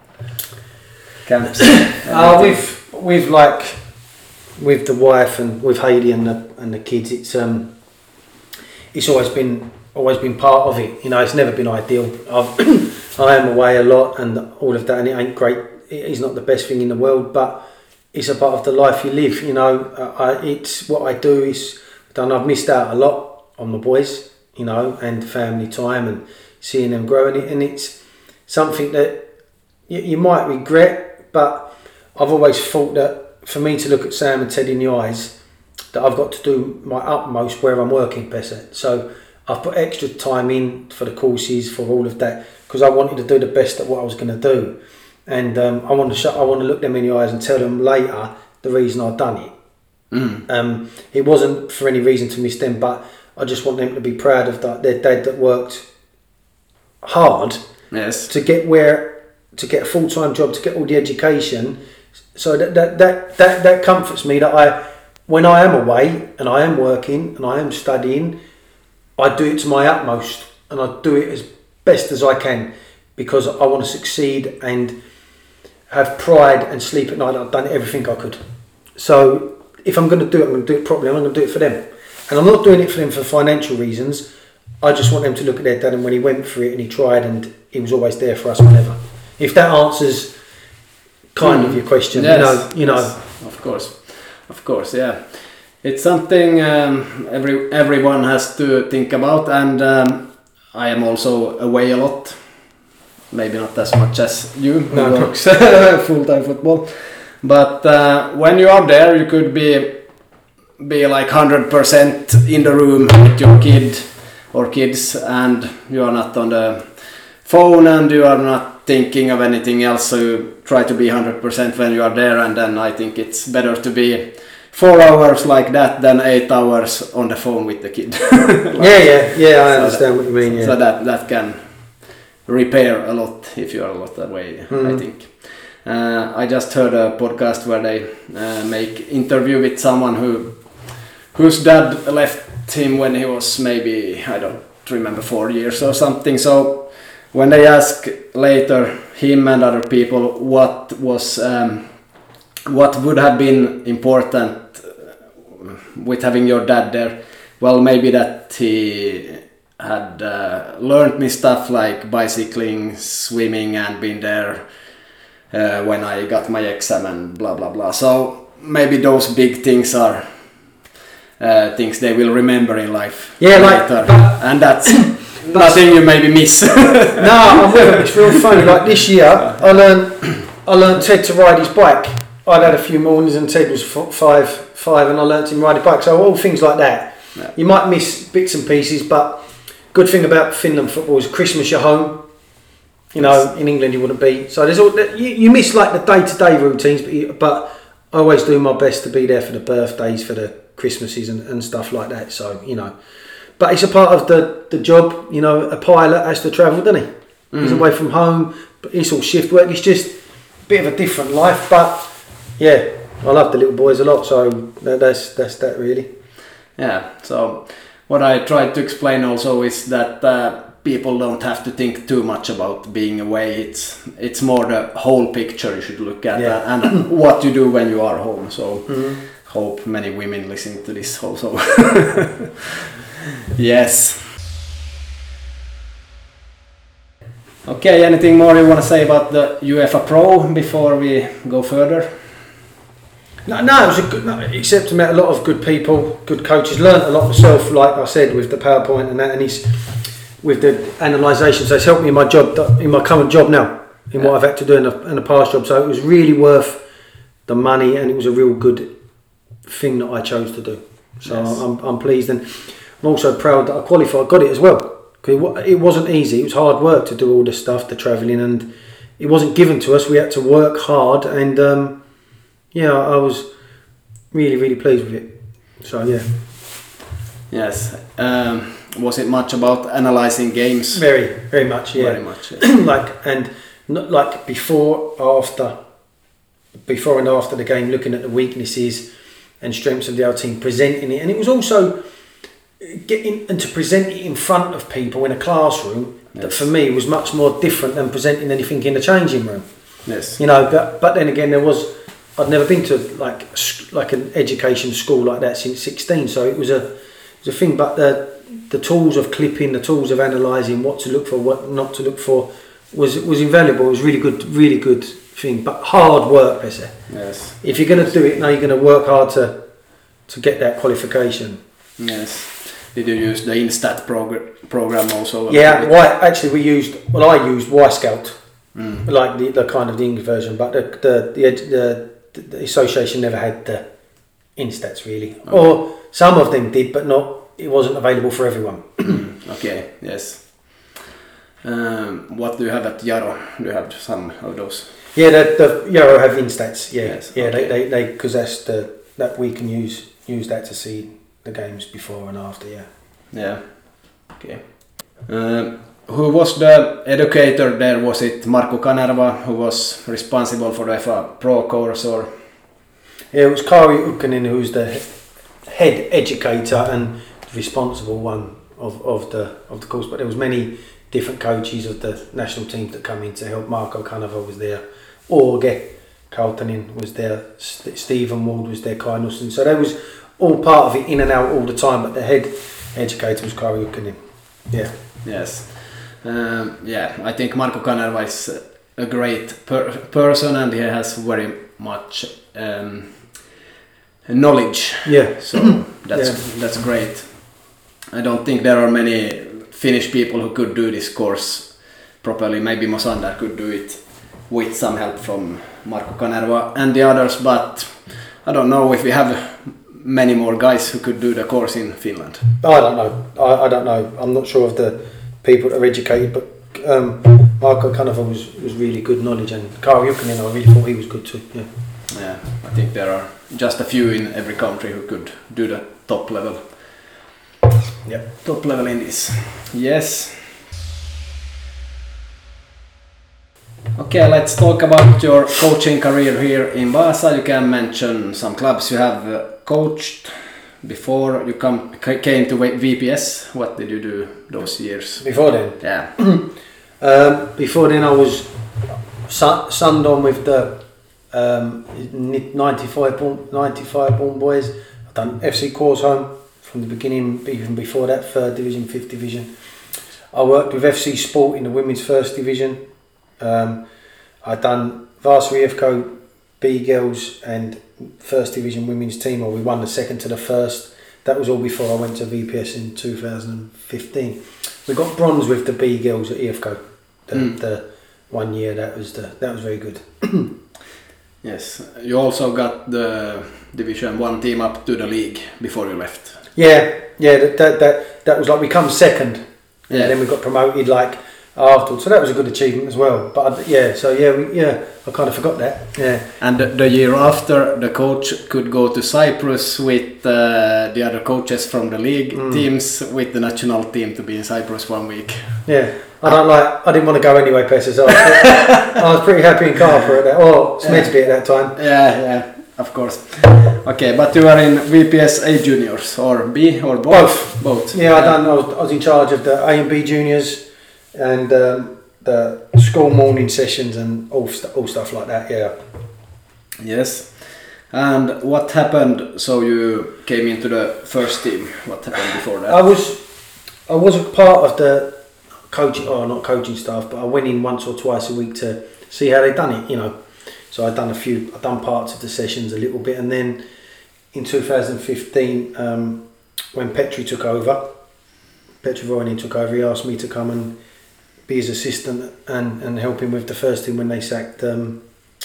Camps. uh, with with like with the wife and with Heidi and the and the kids, it's um it's always been always been part of it. You know, it's never been ideal. I've I am away a lot and all of that, and it ain't great. It is not the best thing in the world, but it's a part of the life you live. You know, I, it's what I do is done. I've missed out a lot on the boys, you know, and family time and seeing them grow, and, it, and it's something that you, you might regret, but I've always thought that for me to look at Sam and Ted in the eyes, that I've got to do my utmost where I'm working better. So I've put extra time in for the courses, for all of that, because I wanted to do the best at what I was going to do. and um, I want to show, I want to look them in the eyes and tell them later the reason I've done it. Mm. Um, it wasn't for any reason to miss them, but I just want them to be proud of that, their dad that worked hard Yes. to get where to get a full time job, to get all the education. So that that, that that that comforts me that I, when I am away and I am working and I am studying, I do it to my utmost and I do it as best as I can because I want to succeed and have pride and sleep at night. I've done everything I could. So if I'm going to do it, I'm going to do it properly. I'm going to do it for them, and I'm not doing it for them for financial reasons. I just want them to look at their dad, and when he went for it and he tried, and he was always there for us whenever. If that answers kind mm. of your question, yes. you know, you know. Yes. Of course, of course, yeah. It's something um, every everyone has to think about, and um, I am also away a lot. Maybe not as much as you, who no, works full-time football. But uh, when you are there, you could be be like one hundred percent in the room with your kid or kids, and you are not on the phone and you are not thinking of anything else, so you try to be one hundred percent when you are there, and then I think it's better to be four hours like that than eight hours on the phone with the kid. Like, yeah, yeah, yeah, I so understand that, what you mean, yeah. So that, that can repair a lot if you are a lot away, mm. I think. Uh, I just heard a podcast where they uh, make interview with someone who whose dad left him when he was maybe, I don't remember, four years or something. So when they ask later him and other people what was um, what would have been important with having your dad there, well, maybe that he had uh, learned me stuff like bicycling, swimming, and been there uh, when I got my exam and blah blah blah. So maybe those big things are uh, things they will remember in life. Yeah, later. like, but, and that's nothing you maybe miss. No, I'm with it. It's real funny. Like this year, I learned I learned Ted to ride his bike. I'd had a few mornings and Ted was f- five, five, and I learnt him ride his bike. So all things like that. Yeah. You might miss bits and pieces, but good thing about Finland football is Christmas you're home. You know, yes. In England you wouldn't be. So there's all you, you miss like the day-to-day routines, but you, but I always do my best to be there for the birthdays, for the Christmases and, and stuff like that. So you know, but it's a part of the, the job. You know, a pilot has to travel, doesn't he? Mm. He's away from home, but it's all shift work. It's just a bit of a different life, but yeah, I love the little boys a lot. So that, that's that's that really. Yeah. So what I tried to explain also is that uh, people don't have to think too much about being away. It's it's more the whole picture you should look at, yeah. uh, and what you do when you are home. So mm-hmm. hope many women listen to this also. Yes. Okay, anything more you want to say about the UEFA Pro before we go further? No, no, it was a good. No, except I met a lot of good people, good coaches. Learned a lot myself, like I said, with the PowerPoint and that, and he's with the analysation. So it's helped me in my job, in my current job now, in yeah. what I've had to do in a, in a past job. So it was really worth the money, and it was a real good thing that I chose to do. So yes. I'm, I'm pleased, and I'm also proud that I qualified, got it as well. Because it wasn't easy. It was hard work to do all this stuff, the travelling, and it wasn't given to us. We had to work hard, and um, yeah, I was really, really pleased with it. So yeah. Yes. Um, was it much about analysing games? Very, very much. Yeah. Very much. Yeah. like and not like before, after, before and after the game, looking at the weaknesses and strengths of the other team, presenting it, and it was also getting and to present it in front of people in a classroom. Yes. That for me was much more different than presenting anything in the changing room. Yes. You know, but but then again, there was. I'd never been to like like an education school like that since sixteen, so it was a it was a thing. But the the tools of clipping, the tools of analysing, what to look for, what not to look for, was was invaluable. It was really good, really good thing. But hard work, Bessie. Yes. If you're going to do it now, you're going to work hard to to get that qualification. Yes. Did you use the Instat progr- program also? Yeah. Why? Actually, we used. Well, I used Y Scout, mm. like the, the kind of the English version, but the the the, the the association never had the Instats really, okay. Or some of them did, but not. It wasn't available for everyone. Okay. Yes. Um, what do you have at Jaro? Do you have some of those? Yeah, the, the Euro have Instats. Yeah, Yes, yeah, okay. they they because that's the that we can use use that to see the games before and after. Yeah. Yeah. Okay. Um, who was the educator there? Was it Markku Kanerva who was responsible for the F A Pro course, or? Yeah, it was Kari Ukkonen who was the head educator and responsible one of, of the of the course. But there was many different coaches of the national team that come in to help. Marco Kanerva was there, Orge Kaltanen was there, St- Stephen Ward was there, Kai Nussen. So they was all part of it, in and out all the time. But the head educator was Kari Ukkonen. Yeah. Yes. Um, yeah, I think Markku Kanerva is a great per- person, and he has very much um, knowledge. Yeah. So that's Yeah. that's great. I don't think there are many Finnish people who could do this course properly. Maybe Mosander could do it with some help from Markku Kanerva and the others, but I don't know if we have many more guys who could do the course in Finland. I don't know. I, I don't know. I'm not sure of the people that are educated, but um, Marco Kanerva was, was really good knowledge, and Kari Ukkonen, I really thought he was good too. Yeah. Yeah, I think there are just a few in every country who could do the top level. Yeah. Top level in this. Yes. Okay, let's talk about your coaching career here in Vaasa. You can mention some clubs you have uh, coached before you come c- came to V P S. What did you do those years? Before then, Yeah. um, before then I was su- sunned on with the um, ninety-five born, ninety-five born boys. I've done F C Korsholm from the beginning, even before that, third division, fifth division. I worked with F C Sport in the women's first division. Um, I done Varsity F C B girls and first division women's team, or we won the second to the first. That was all before I went to V P S in two thousand fifteen. We got bronze with the B girls at E F C O. The, Mm. the one year that was the that was very good. Yes. You also got the Division One team up to the league before you left. Yeah, yeah. That that that, that was like we come second, and Yeah. then we got promoted like afterwards. So that was a good achievement as well. But I, yeah, so yeah, we, yeah. I kind of forgot that. Yeah. And the, the year after, the coach could go to Cyprus with uh, the other coaches from the league Mm. teams with the national team to be in Cyprus one week. Yeah, I don't like. I didn't want to go anyway, Pesce. So I was, I was pretty happy in Carper at that, or Smedesby at that time. Yeah, yeah, of course. Okay, but you were in V P S A juniors or B or both? Both. Both. Yeah, I done. I was, I was in charge of the A and B juniors and um, the school morning sessions and all st- all stuff like that. Yeah. Yes. And what happened? So you came into the first team. What happened before that? I was, I was a part of the coaching, or not coaching staff, but I went in once or twice a week to see how they done it. You know, so I'd done a few. I'd done parts of the sessions a little bit, and then in two thousand fifteen, um, when Petri took over, Petri Voinen took over. He asked me to come and be his assistant and, and help him with the first team when they sacked um,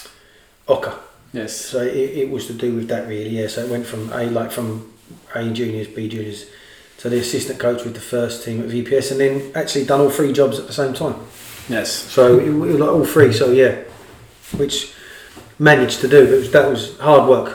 Oka. Yes. So it, it was to do with that really, yeah. So it went from A like from A juniors, B juniors, to the assistant coach with the first team at V P S, and then actually done all three jobs at the same time. Yes. So it, it was like all three. So yeah, which managed to do, but it was, that was hard work.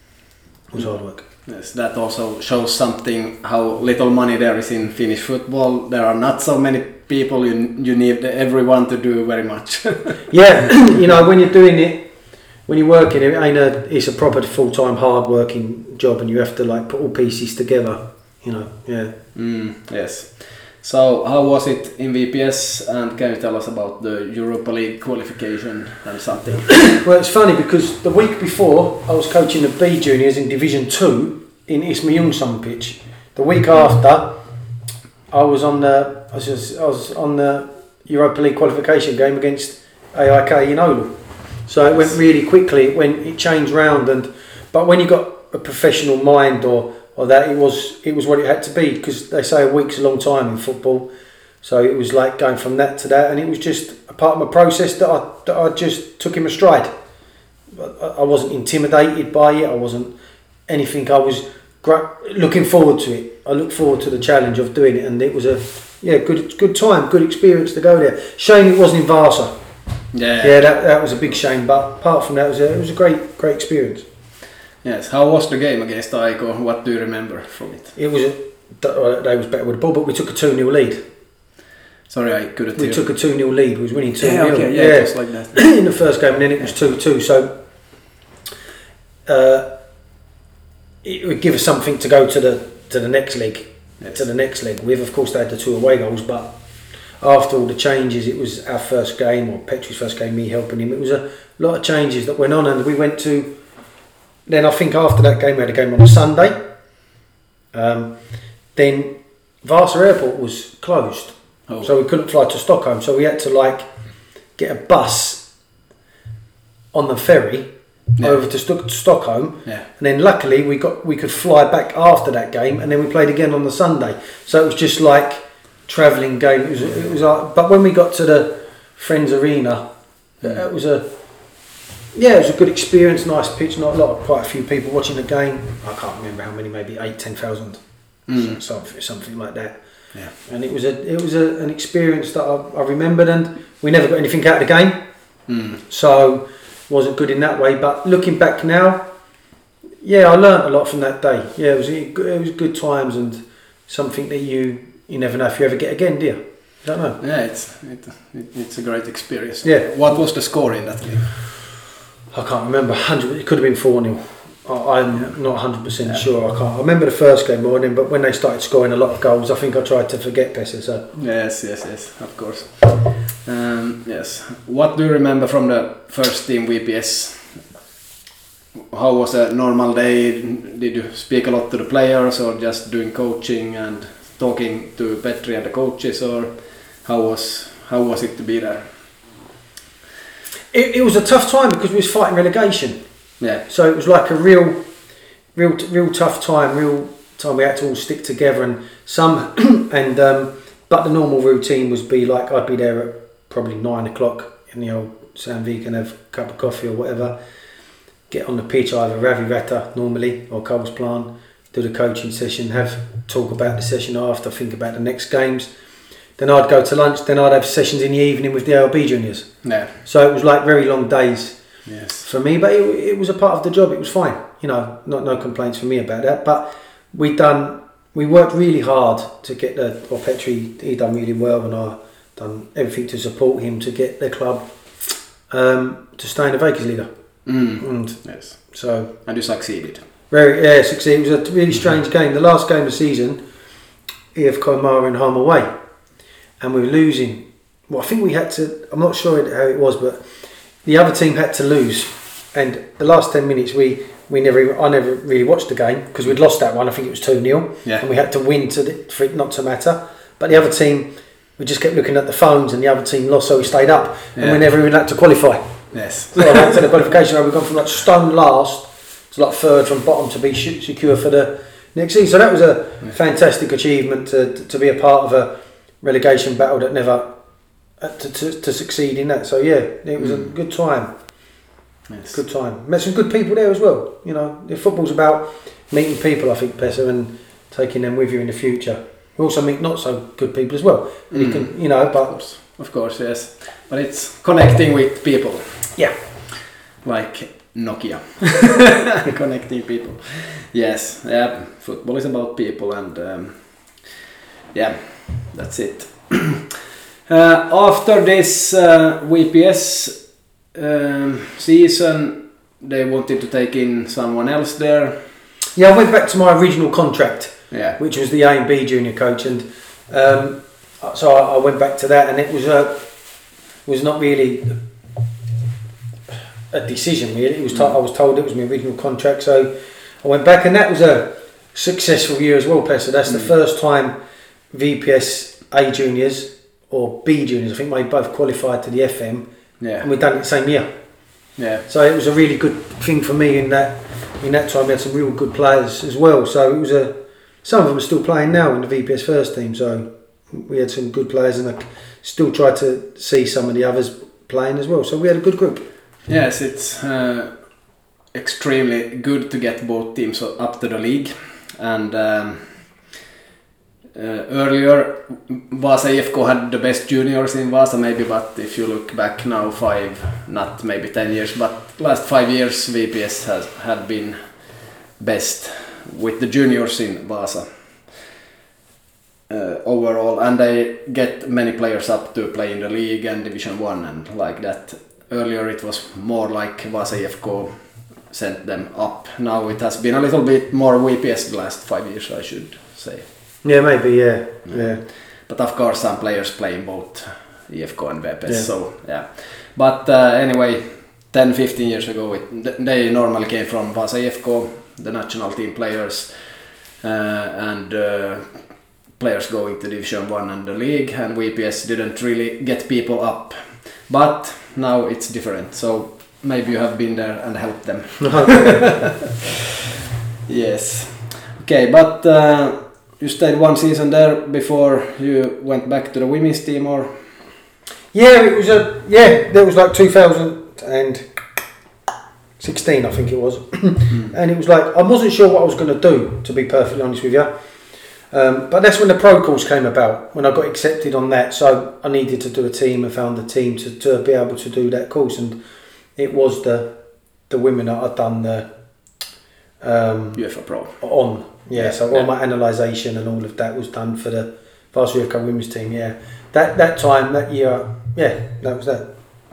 It was hard work. Yes, that also shows something how little money there is in Finnish football. There are not so many people. You you need everyone to do very much. Yeah, you know, when you're doing it, when you're working, it ain't a. It's a proper full-time, hard-working job, and you have to like put all pieces together. You know, yeah. Mm, yes. So how was it in V P S, and can you tell us about the Europa League qualification and something? Well, it's funny because the week before I was coaching the B juniors in Division Two in Isma Jungsson pitch. The week after, I was on the I was, just, I was on the Europa League qualification game against A I K in Oulu. So it went really quickly when it changed round, and but when you got a professional mind or or that, it was it was what it had to be, because they say a week's a long time in football. So it was like going from that to that, and it was just a part of my process that I that I just took in my stride. I, I wasn't intimidated by it. I wasn't anything. I was gra- looking forward to it. I looked forward to the challenge of doing it, and it was a yeah good good time, good experience to go there. Shame it wasn't in Vaasa. Yeah. Yeah, that, that was a big shame. But apart from that, it was a, it was a great great experience. Yes. How was the game against Aiko? What do you remember from it? It was a, they was better with the ball, but we took a two nil lead. Sorry, I couldn't We hear. took a two nil lead. We was winning two Yeah, nil. okay, yeah, it was like that. In the first game, and then it was two two. So uh, it would give us something to go to the to the next leg. Yes. To the next leg with. Of course, they had the two away goals, but after all the changes, it was our first game, or Petri's first game, me helping him. It was a lot of changes that went on, and we went to. Then I think after that game, we had a game on a Sunday. Um, then Vasa Airport was closed, Oh. so we couldn't fly to Stockholm. So we had to like get a bus on the ferry Yeah. over to Sto- Stockholm, Yeah. and then luckily we got we could fly back after that game, and then we played again on the Sunday. So it was just like travelling game. It was it was like, but when we got to the Friends Arena, Mm. it was a yeah, it was a good experience. Nice pitch, not a lot, of, quite a few people watching the game. I can't remember how many, maybe eight, ten thousand, Mm. something something like that. Yeah. And it was a it was a, an experience that I, I remembered, and we never got anything out of the game. Mm. So wasn't good in that way, but looking back now, yeah, I learnt a lot from that day. Yeah, it was it was good times, and something that you you never know if you ever get again, do you? I don't know. Yeah, it's it, it, it's a great experience. Yeah. What was the score in that game? I can't remember. Hundred. It could have been four nil. I'm Yeah. not hundred percent Yeah. sure. I can't. I remember the first game more than, but when they started scoring a lot of goals, I think I tried to forget Pessa. So Yes, yes, yes, of course. Um, yes. What do you remember from the first team V P S? How was a normal day? Did you speak a lot to the players, or just doing coaching and talking to Petri and the coaches, or how was how was it to be there? it, it was a tough time because we was fighting relegation. Yeah. So it was like a real, real, real tough time. Real time we had to all stick together, and some, and um, but the normal routine was be like I'd be there at probably nine o'clock in the old Sandvik and have a cup of coffee or whatever. Get on the pitch, either Ravi Rata normally or Coles Plan, do the coaching session, have talk about the session after, think about the next games. Then I'd go to lunch. Then I'd have sessions in the evening with the A L B juniors. Yeah. So it was like very long days. Yes. For me, but it, it was a part of the job. It was fine, you know, not no complaints from me about that. But we done, we worked really hard to get the. Well, Petri, he done really well, and I done everything to support him to get the club um, to stay in the Vegas leader. Mm. And Yes. so And you succeeded. very yeah, succeed. It was a really strange game. The last game of the season, E F Koimara and home away, and we were losing. Well, I think we had to. I'm not sure how it was, but the other team had to lose, and the last ten minutes we we never. I never really watched the game because we'd lost that one. I think it was two nil, Yeah. and we had to win to the, for it not to matter. But the other team, we just kept looking at the phones, and the other team lost, so we stayed up, and Yeah. we never even had to qualify. Yes. So I went to the qualification round. We've gone from like stone last to like third from bottom to be sh- secure for the next season. So that was a Yeah. fantastic achievement to to be a part of a relegation battle that never uh, to, to to succeed in that. So yeah, it was Mm. a good time. Yes. Good time. Met some good people there as well. You know, the football's about meeting people. I think Pessa, and taking them with you in the future. We also meet not so good people as well. And you Mm. can, you know, Of but course. Of course, yes. But it's connecting with people. yeah. Like Nokia. Connecting people. Yes, yeah, football is about people, and um, yeah, that's it. uh, after this uh, V P S um, season, they wanted to take in someone else there. Yeah, I went back to my original contract, Yeah. which was the A and B junior coach, and um, so I, I went back to that, and it was a was not really a decision. Really, it was to- I was told it was my original contract, so I went back, and that was a successful year as well, Pessa. That's the Mm. first time V P S A juniors or B juniors, I think they both qualified to the F M, Yeah. and we'd done it the same year. Yeah. So it was a really good thing for me in that in that time. We had some real good players as well. So it was a some of them are still playing now in the V P S first team. So we had some good players, and I still try to see some of the others playing as well. So we had a good group. Yes, it's uh, extremely good to get both teams up to the league, and um, Uh, earlier, Vasa I F K had the best juniors in Vasa maybe, but if you look back now five, not maybe ten years, but last five years V P S has had been best with the juniors in Vasa uh, overall, and they get many players up to play in the league and Division One and like that. Earlier it was more like Vasa I F K sent them up. Now it has been a little bit more V P S the last five years, I should say. Yeah, maybe, yeah, yeah. But of course some players play in both I F K and V P S, yeah. so yeah. But uh, anyway, ten fifteen years ago it, they normally came from Vasa I F K, the national team players, uh, and uh, players going to Division One and the league, and V P S didn't really get people up. But now it's different, so maybe you have been there and helped them. Yes. Okay, but uh, you stayed one season there before you went back to the women's team, or? Yeah, it was a yeah. That was like two thousand sixteen, I think it was, and it was like I wasn't sure what I was going to do, to be perfectly honest with you. Um, but that's when the pro course came about, when I got accepted on that. So I needed to do a team and found a team to, to be able to do that course, and it was the the women that I'd done the um, UEFA Pro on. Yeah, yeah, so yeah. all my analysation and all of that was done for the Vasa U F K women's team. Yeah, that that time that year, yeah, that was that.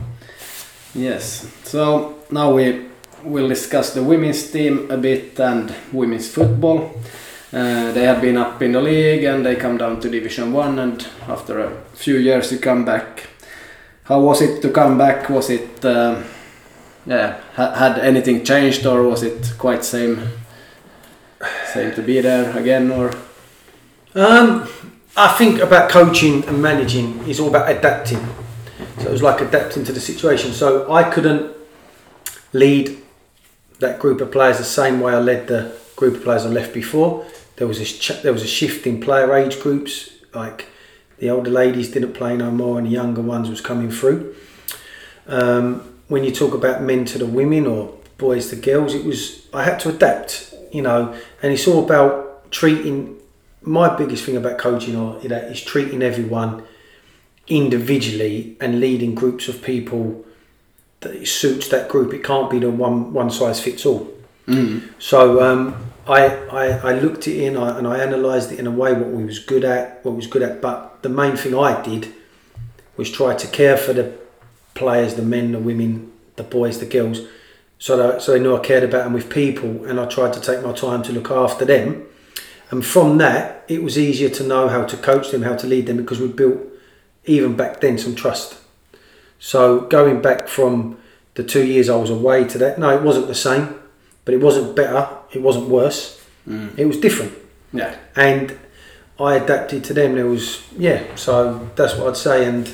Yes. So now we will discuss the women's team a bit and women's football. Uh, they have been up in the league and they come down to Division One, and after a few years you come back. How was it to come back? Was it uh, yeah ha- had anything changed, or was it quite same same to be there again, or? Um, I think about coaching and managing is all about adapting. So it was like adapting to the situation. So I couldn't lead that group of players the same way I led the group of players I left before. There was a ch- there was a shift in player age groups. Like the older ladies didn't play no more, and the younger ones was coming through. Um, when you talk about men to the women or boys to girls, it was I had to adapt, you know. And it's all about treating. My biggest thing about coaching or you know, is treating everyone individually and leading groups of people that it suits that group. It can't be the one one size fits all. Mm. So um, I, I I looked it in I, and I analysed it in a way what we was good at, what we was good at. But the main thing I did was try to care for the players, the men, the women, the boys, the girls, so that so they knew I cared about them with people, and I tried to take my time to look after them. And from that, it was easier to know how to coach them, how to lead them, because we built, even back then, some trust. So going back from the two years I was away to that, no, it wasn't the same, but it wasn't better, it wasn't worse. Mm. It was different. Yeah. And I adapted to them. There was, yeah, so that's what I'd say. And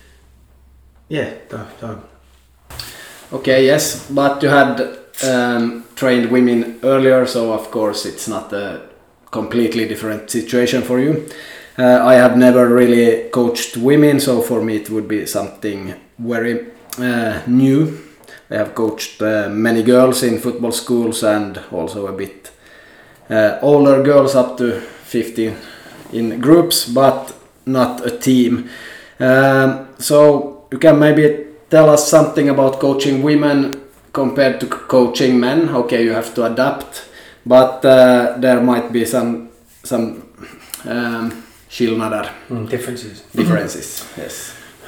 yeah, no, no. Okay, yes, but you had um, trained women earlier, so of course it's not a completely different situation for you. Uh, I have never really coached women, so for me it would be something very uh, new. I have coached uh, many girls in football schools and also a bit uh, older girls up to fifteen in groups, but not a team. Um, so you can maybe tell us something about coaching women compared to coaching men. Okay, you have to adapt, but uh, there might be some some um, skillnader. Mm, differences. Differences, yes.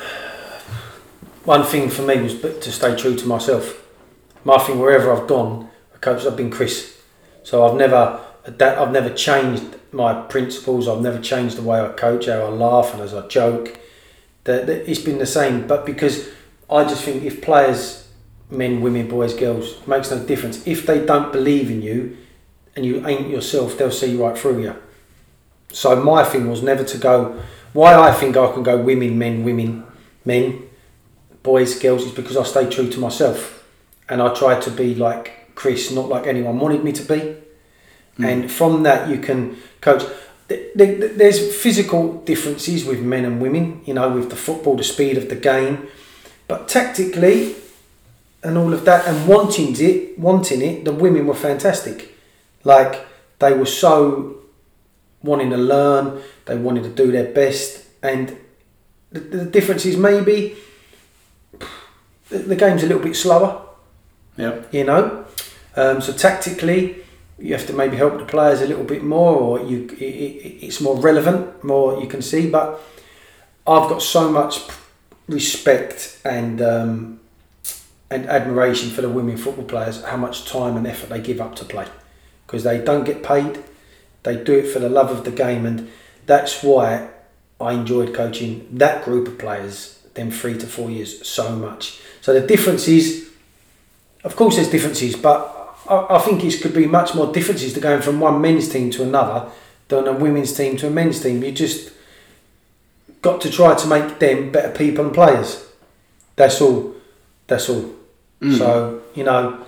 One thing for me was to stay true to myself. My thing, wherever I've gone, a coach, I've been Chris. So I've never, I've never changed my principles. I've never changed the way I coach, how I laugh and as I joke. That it's been the same. But because I just think if players, men, women, boys, girls, it makes no difference. If they don't believe in you and you ain't yourself, they'll see right through you. So my thing was never to go. Why I think I can go women, men, women, men, boys, girls, is because I stay true to myself, and I try to be like Chris, not like anyone wanted me to be. Mm. And from that, you can coach. There's physical differences with men and women, you know, with the football, the speed of the game, but tactically, and all of that, and wanting it, wanting it, the women were fantastic. Like they were so wanting to learn, they wanted to do their best, and the, the difference is maybe the, the game's a little bit slower. Yeah. You know, um, so tactically you have to maybe help the players a little bit more, or you it, it, it's more relevant, more you can see. But I've got so much respect and um, and admiration for the women football players, how much time and effort they give up to play, because they don't get paid, they do it for the love of the game, and that's why I enjoyed coaching that group of players, them three to four years, so much. So the difference is, of course there's differences, but I, I think it could be much more differences to going from one men's team to another than a women's team to a men's team. You just got to try to make them better people and players. That's all. That's all. Mm. So, you know.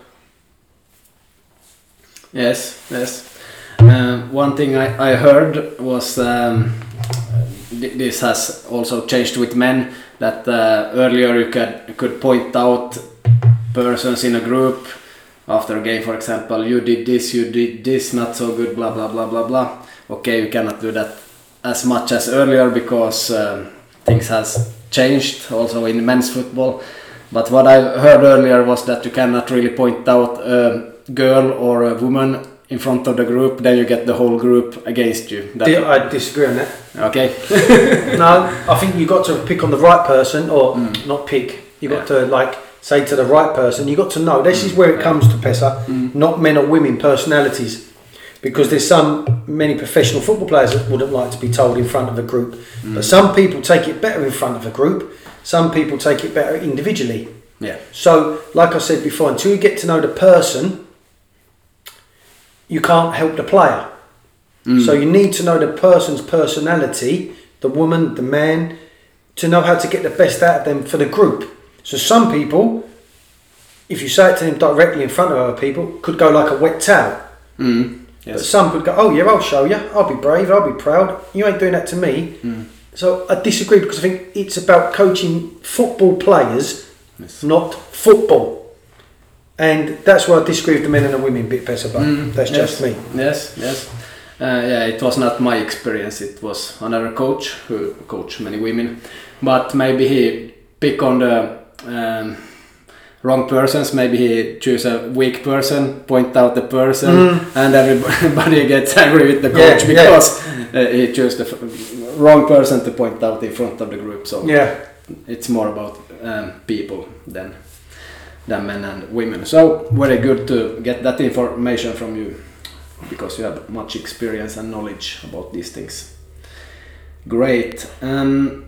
Yes, yes. Uh, one thing I, I heard was um, th- this has also changed with men, that uh, earlier you could, could point out persons in a group after a game, for example, you did this, you did this, not so good, blah blah blah blah blah. Okay, you cannot do that as much as earlier because um, things has changed also in men's football. But what I heard earlier was that you cannot really point out a girl or a woman in front of the group, then you get the whole group against you. That I disagree on that. Okay. No, I think you got to pick on the right person, or mm. not pick. You got yeah. to like say to the right person. You got to know this mm. is where it yeah. comes to Pesa, mm. not men or women personalities, because there's some many professional football players that wouldn't like to be told in front of a group, mm. but some people take it better in front of a group. Some people take it better individually. Yeah. So, like I said before, until you get to know the person, you can't help the player. Mm. So you need to know the person's personality, the woman, the man, to know how to get the best out of them for the group. So some people, if you say it to them directly in front of other people, could go like a wet towel. Mm. Yes. But some could go, oh yeah, I'll show you. I'll be brave. I'll be proud. You ain't doing that to me. Mm. So I disagree, because I think it's about coaching football players, yes. not football. And that's why I disagree with the men and the women bit better, but mm, that's yes, just me. Yes, yes. Uh, yeah, it was not my experience. It was another coach who coached many women. But maybe he pick on the um, wrong persons. Maybe he choose a weak person, point out the person, mm. and everybody gets angry with the coach yeah, because yeah. Uh, he chose the f- wrong person to point out in front of the group. So yeah. it's more about um, people than than men and women. So very good to get that information from you, because you have much experience and knowledge about these things. Great. Um,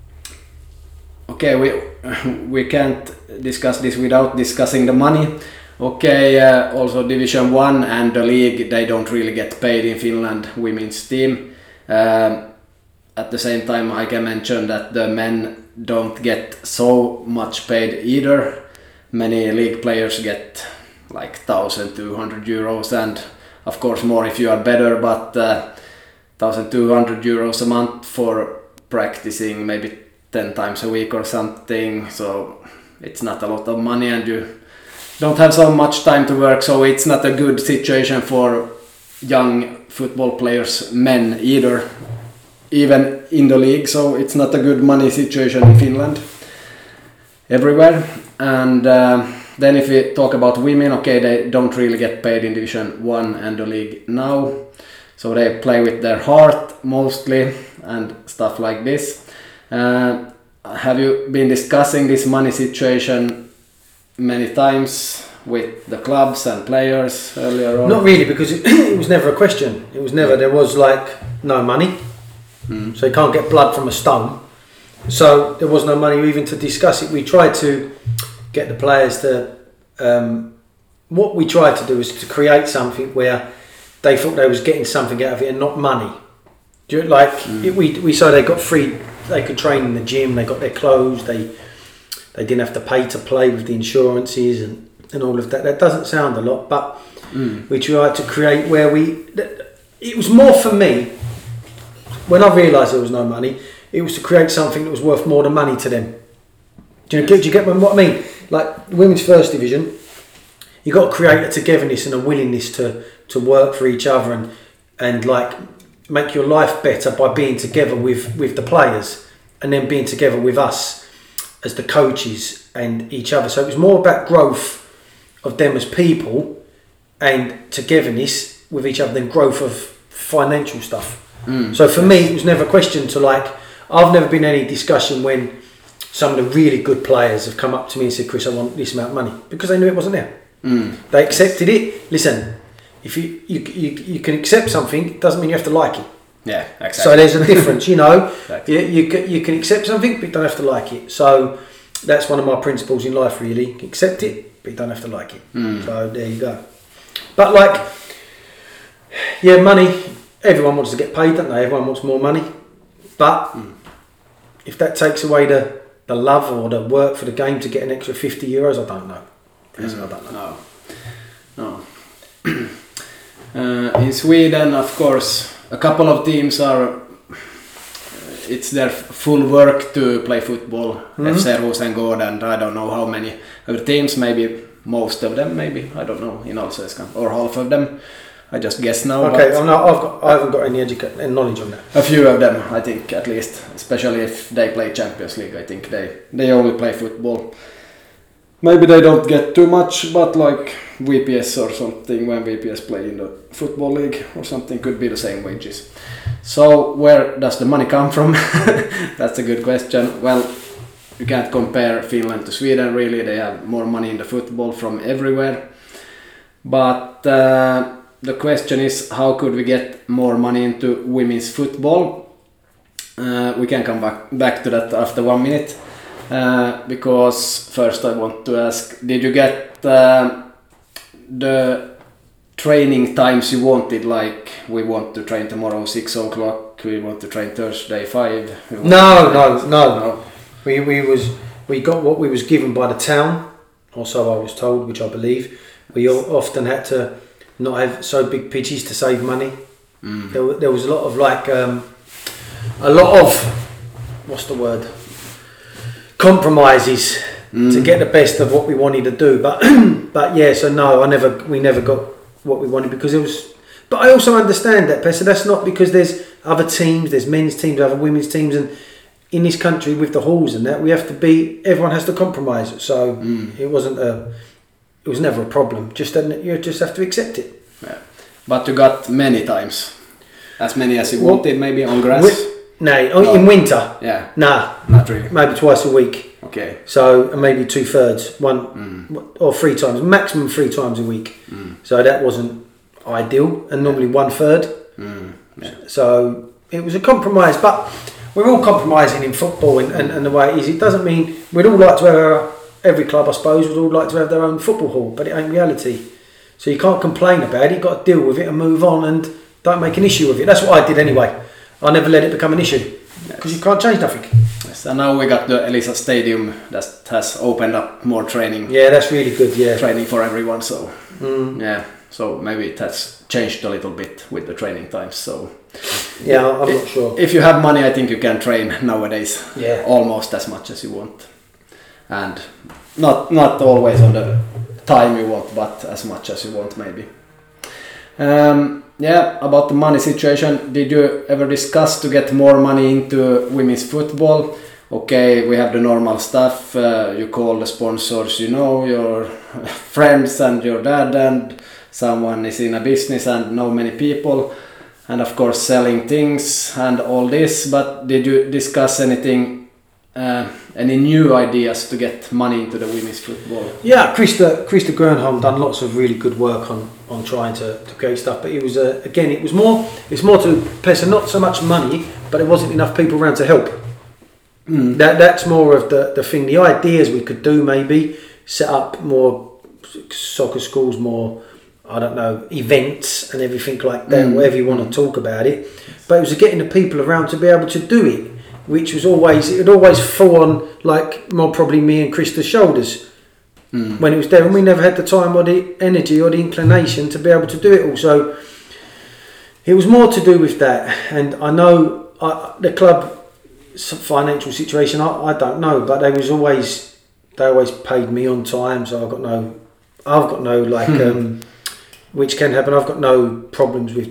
okay, we we can't discuss this without discussing the money. Okay, uh, also Division One and the league, they don't really get paid in Finland, women's team. Um, at the same time, I can mention that the men don't get so much paid either. Many league players get like one thousand two hundred euros, and of course more if you are better, but uh, one thousand two hundred euros a month for practicing maybe ten times a week or something, so it's not a lot of money, and you don't have so much time to work, so it's not a good situation for young football players, men either, even in the league, so it's not a good money situation in Finland everywhere. And uh, then if we talk about women, okay, they don't really get paid in Division One and the league now, so they play with their heart mostly and stuff like this. Uh, have you been discussing this money situation many times with the clubs and players earlier on? Not really, because it, it was never a question. It was never, there was like no money, mm. so you can't get blood from a stone. So there was no money even to discuss it. We tried to get the players to, um, what we tried to do is to create something where they thought they was getting something out of it and not money. Do you, like mm. it, we we so they got free, they could train in the gym, they got their clothes, they they didn't have to pay to play with the insurances and, and all of that. That doesn't sound a lot, but mm. we tried to create where we, it was more for me, when I realised there was no money, it was to create something that was worth more than money to them. Do you, yes. do you get what I mean? Like women's first division, you got to create a togetherness and a willingness to, to work for each other and and like make your life better by being together with, with the players and then being together with us as the coaches and each other. So it was more about growth of them as people and togetherness with each other than growth of financial stuff. Mm. So for me, it was never a question to like, I've never been in any discussion when some of the really good players have come up to me and said, Chris, I want this amount of money, because they knew it wasn't there. Mm. They accepted it. Listen, if you, you you you can accept something, it doesn't mean you have to like it. Yeah, exactly. So there's a difference, you know. Exactly. You, you, can, you can accept something, but you don't have to like it. So that's one of my principles in life, really. You can accept it, but you don't have to like it. Mm. So there you go. But like, yeah, money, everyone wants to get paid, don't they? Everyone wants more money. But mm. if that takes away the, the love or the work for the game to get an extra fifty euros, I don't know. Yes, Mm. I don't know. No. No. uh, in Sweden, of course, a couple of teams are, it's their full work to play football. Mm-hmm. F C Rosengård and I don't know how many other teams, maybe most of them, maybe, I don't know, in Allsvenskan, or half of them. I just guess now. Okay, I'm not, I've got, I haven't got any educa- any knowledge on that. A few of them, I think, at least, especially if they play Champions League. I think they they only play football. Maybe they don't get too much, but like V P S or something, when V P S play in the football league or something, could be the same wages. So where does the money come from? That's a good question. Well, you can't compare Finland to Sweden, really. They have more money in the football from everywhere. But uh, the question is, how could we get more money into women's football? Uh, we can come back, back to that after one minute. Uh, because first I want to ask, did you get uh, the training times you wanted? Like, we want to train tomorrow six o'clock, we want to train Thursday five. No, no, no, no. We we was we got what we was given by the town, or so I was told, which I believe. We all often had to not have so big pitches to save money. Mm. There, there was a lot of like um, a lot of what's the word? compromises mm. to get the best of what we wanted to do. But but yeah, so no, I never we never got what we wanted because it was. But I also understand that, Pessa. That's not because there's other teams, there's men's teams, other women's teams, and in this country with the halls and that, we have to be. Everyone has to compromise. So mm. it wasn't a. It was never a problem. Just that you just have to accept it. Yeah. But you got many times, as many as you well, wanted, maybe on grass. Wi- no, oh, no, in winter. Yeah. Nah, not really. Maybe twice a week. Okay. So maybe two thirds, one mm. or three times, maximum three times a week. Mm. So that wasn't ideal, and normally one third. Mm. Yeah. So it was a compromise, but we're all compromising in football, and, and, and the way it is, it doesn't mean we'd all like to have our, every club, I suppose, would all like to have their own football hall, but it ain't reality. So you can't complain about it. You've got to deal with it and move on, and don't make an issue of it. That's what I did anyway. I never let it become an issue because yes. you can't change nothing. Yes, and now we got the Elisa Stadium that has opened up more training. Yeah, that's really good. Yeah, training for everyone. So mm. yeah, so maybe it has changed a little bit with the training times. So yeah, I'm if, not sure. If you have money, I think you can train nowadays. Yeah, almost as much as you want, and not not always on the time you want, but as much as you want, maybe. Um, yeah, about the money situation, did you ever discuss to get more money into women's football? Okay, we have the normal stuff, uh, you call the sponsors, you know, your friends and your dad, and someone is in a business and know many people, and of course selling things and all this, but did you discuss anything, uh, any new ideas to get money into the women's football? Yeah, Krista Krista Gernholm done lots of really good work on, on trying to, to create stuff, but it was uh, again it was more it's more to Pessa, not so much money, but there wasn't enough people around to help. Mm. That that's more of the, the thing. The ideas we could do, maybe set up more soccer schools, more I don't know events and everything like that, mm. whatever you want to talk about it. But it was getting the people around to be able to do it, which was always, it would always fall on like more probably me and Krista's shoulders mm. when it was there, and we never had the time or the energy or the inclination to be able to do it all. So it was more to do with that, and I know I, the club financial situation, I, I don't know, but they was always they always paid me on time, so I've got no I've got no like um, which can happen. I've got no problems with that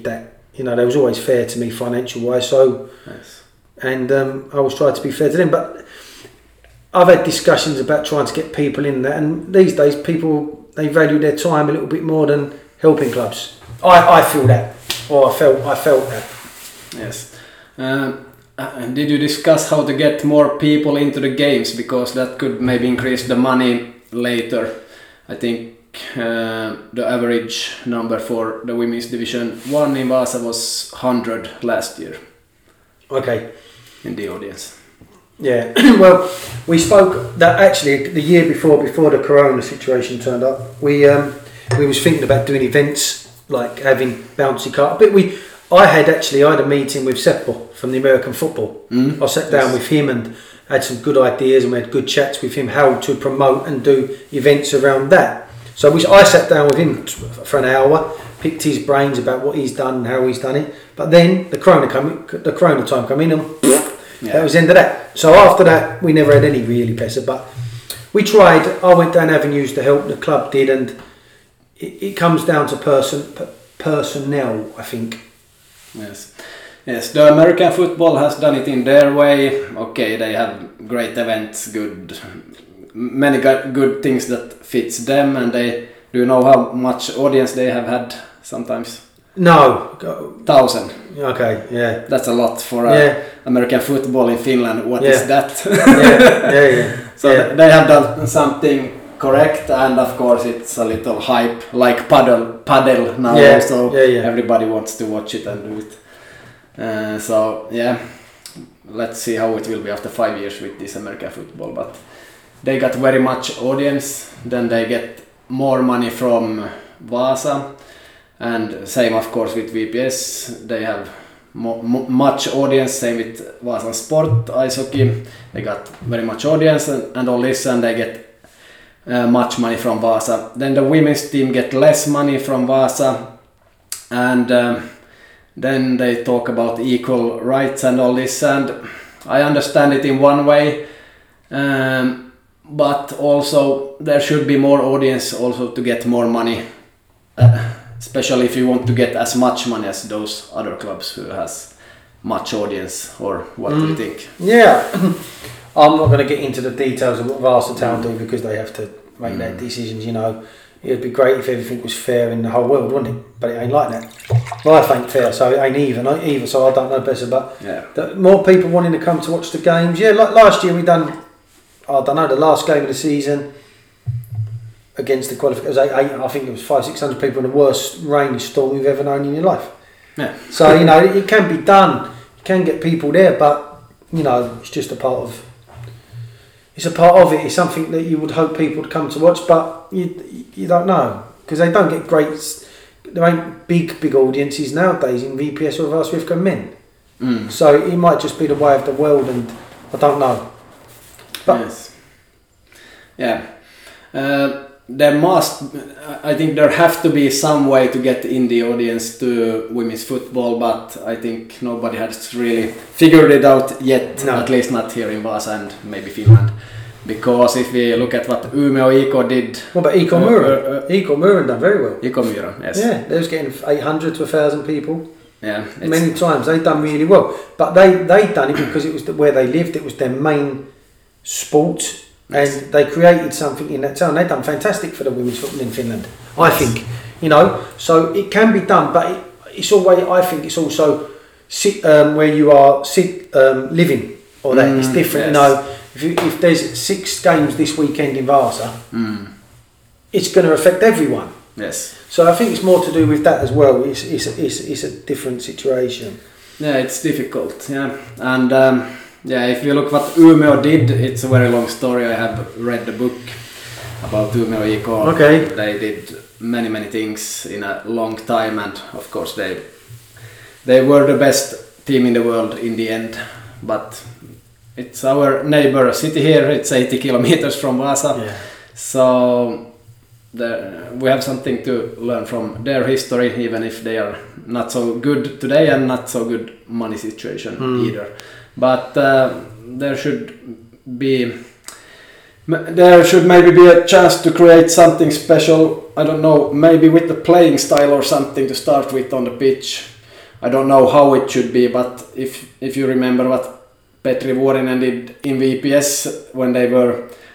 you know, they was always fair to me financial wise. So, Yes. and um, I always tried to be fair to them. But I've had discussions about trying to get people in there, and these days people, they value their time a little bit more than helping clubs. I, I feel that, or I felt I felt that. Yes. Um, uh, did you discuss how to get more people into the games, because that could maybe increase the money later? I think uh, the average number for the women's division one in Vasa was one hundred last year. Okay. In the audience. Yeah. Well, we spoke that actually the year before, before the Corona situation turned up. We um, we was thinking about doing events like having bouncy cart. But we, I had actually I had a meeting with Seppo from the American football. Mm. I sat down Yes. with him and had some good ideas, and we had good chats with him how to promote and do events around that. So we, I sat down with him for an hour, picked his brains about what he's done and how he's done it. But then the Corona come, the Corona time come in, and Yeah. that was the end of that. So after that, we never had any really pressure. But we tried. I went down avenues to help. The club did, and it, it comes down to person p- personnel, I think. Yes. Yes, the American football has done it in their way. Okay, they have great events, good, many go- good things that fits them, and they, do you know how much audience they have had sometimes? No. Go- Thousand. Okay. Yeah. That's a lot for uh, Yeah. American football in Finland. What Yeah. is that? Yeah. Yeah. Yeah. So yeah. th- they have done something correct, and of course it's a little hype, like paddle, paddle now. Yeah, So yeah, yeah. everybody wants to watch it and do it. Uh, so yeah, let's see how it will be after five years with this American football. But they got very much audience. Then they get more money from Vasa, and same of course with V P S. They have mo- mo- much audience. Same with Vasan Sport ice hockey. They got very much audience and, and all this, and they get uh, much money from Vasa. Then the women's team get less money from Vasa, and um, then they talk about equal rights and all this, and I understand it in one way, um, but also there should be more audience also to get more money, uh, especially if you want to get as much money as those other clubs who has much audience. Or what do you think? Yeah. I'm not going to get into the details of what Vasa Town do, because they have to make their decisions, you know. It'd be great if everything was fair in the whole world, wouldn't it? But it ain't like that. Life ain't fair, so it ain't even either. So I don't know better. But Yeah. the more people wanting to come to watch the games, yeah. Like last year, we done. I don't know, the last game of the season against the qualifiers. I think it was five, six hundred people in the worst rainy storm you've ever known in your life. Yeah. So you know, it can be done. You can get people there, but you know, it's just a part of. It's a part of it. It's something that you would hope people would come to watch, but you you don't know, because they don't get great. There ain't big big audiences nowadays in V P S or Vasa Rivka men. Mm. So it might just be the way of the world, and I don't know. But Yes. Yeah. Uh, there must, I think there have to be some way to get in the audience to women's football, but I think nobody has really figured it out yet, No. at least not here in Vasa and maybe Finland. Because if we look at what Umeå I K did... what about Iko Uh, Muren? uh, uh, Iko Muren done very well. I K Myra, yes. Yeah, they was getting eight hundred to one thousand people. Yeah, it's- Many times they done really well, but they they done it because it was the, where they lived. It was their main sport, and they created something in that town. They done fantastic for the women's football in Finland. I think, you know, so it can be done, but it, it's always. I think it's also sit um, where you are sit um, living or that. Mm, it's different, yes. you know. If, you, if there's six games this weekend in Vasa, Mm, it's going to affect everyone. yes. So I think it's more to do with that as well. It's it's a, it's, it's a different situation. Yeah, it's difficult, yeah. And um, yeah, if you look what Umeå did, it's a very long story. I have read the book about Umeå I K. Okay. They did many, many things in a long time, and of course they they were the best team in the world in the end. But it's our neighbor city here, it's eighty kilometers from Vasa. Yeah. So the, we have something to learn from their history, even if they are not so good today and not so good money situation Mm. either. But uh, there should be, there should maybe be a chance to create something special. I don't know, maybe with the playing style or something to start with on the pitch. I don't know how it should be, but if if you remember what Petri Vuorinen did in V P S when they were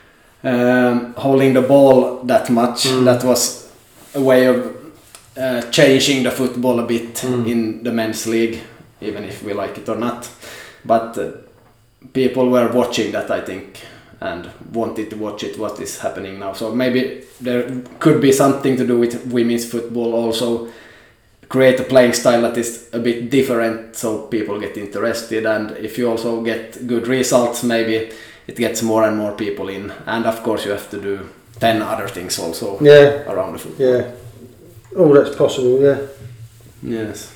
um, holding the ball that much, mm. that was a way of uh, changing the football a bit mm. in the men's league, even if we like it or not. But uh, people were watching that, I think, and wanted to watch it, what is happening now. So maybe there could be something to do with women's football also, create a playing style that is a bit different so people get interested, and if you also get good results, maybe it gets more and more people in, and of course you have to do ten other things also yeah. around the football. Yeah, all that's possible, yeah. Yes.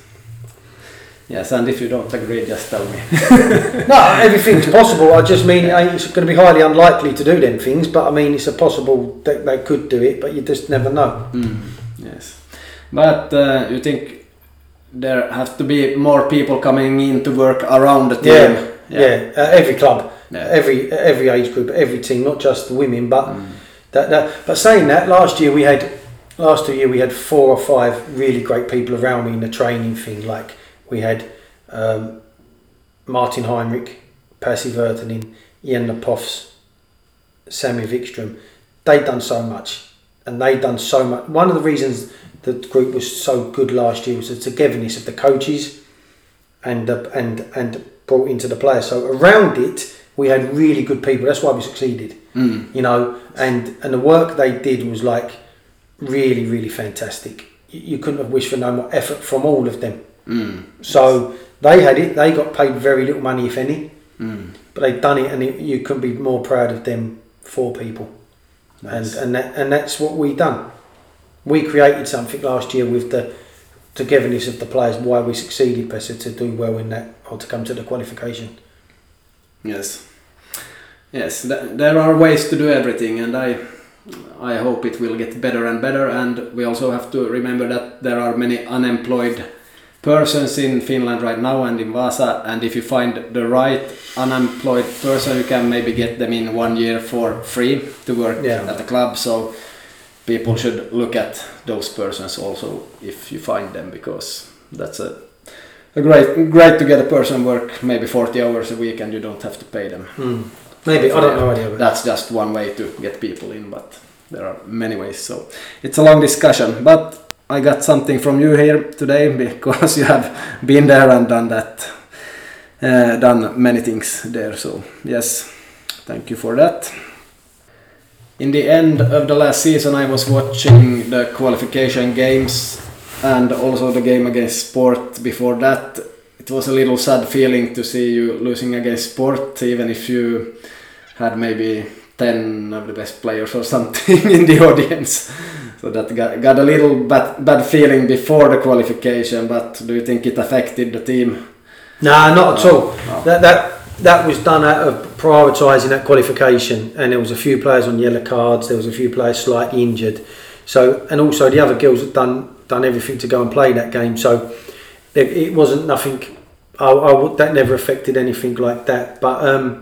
Yes, and if you don't agree, just tell me. No, everything's possible. I just mean it's going to be highly unlikely to do them things, but I mean it's a possible that they could do it, but you just never know. Mm, yes. But uh, you think there have to be more people coming in to work around the team? Yeah, yeah. yeah. Uh, every club, yeah. every every age group, every team, not just the women. But mm. that, that. But saying that, last year we had, last two year we had four or five really great people around me in the training thing. Like we had um, Martin Heinrich, Pasi Virtanen, Jenna Poffs, Sammy Wikström. They'd done so much, and they'd done so much. One of the reasons the group was so good last year was the togetherness of the coaches and uh, and and brought into the players. So around it, we had really good people. That's why we succeeded. Mm. You know, and and the work they did was like really, really fantastic. You, you couldn't have wished for no more effort from all of them. Mm. So they had it. They got paid very little money, if any, mm. but they'd done it, and it, you couldn't be more proud of them four people. Nice. And and that, and that's what we done. We created something last year with the togetherness of the players, why we succeeded, Pesa, to do well in that, or to come to the qualification. Yes. Yes, th- there are ways to do everything, and I I hope it will get better and better, and we also have to remember that there are many unemployed persons in Finland right now and in Vaasa, and if you find the right unemployed person, you can maybe get them in one year for free to work yeah. at the club, so people should look at those persons also if you find them, because that's a, a great great to get a person work maybe forty hours a week and you don't have to pay them. Mm. Maybe, I don't know idea. That's just one way to get people in, but there are many ways, so it's a long discussion. But I got something from you here today because you have been there and done that, uh, done many things there, so yes, thank you for that. In the end of the last season, I was watching the qualification games and also the game against Sport before that. It was a little sad feeling to see you losing against Sport, even if you had maybe ten of the best players or something in the audience. So that got, got a little bad, bad feeling before the qualification, but do you think it affected the team? Nah, not at all. No. That, that, that was done out of prioritising that qualification, and there was a few players on yellow cards, there was a few players slightly injured. So, and also the other girls had done, done everything to go and play that game, so it, it wasn't nothing, I, I, that never affected anything like that. But um,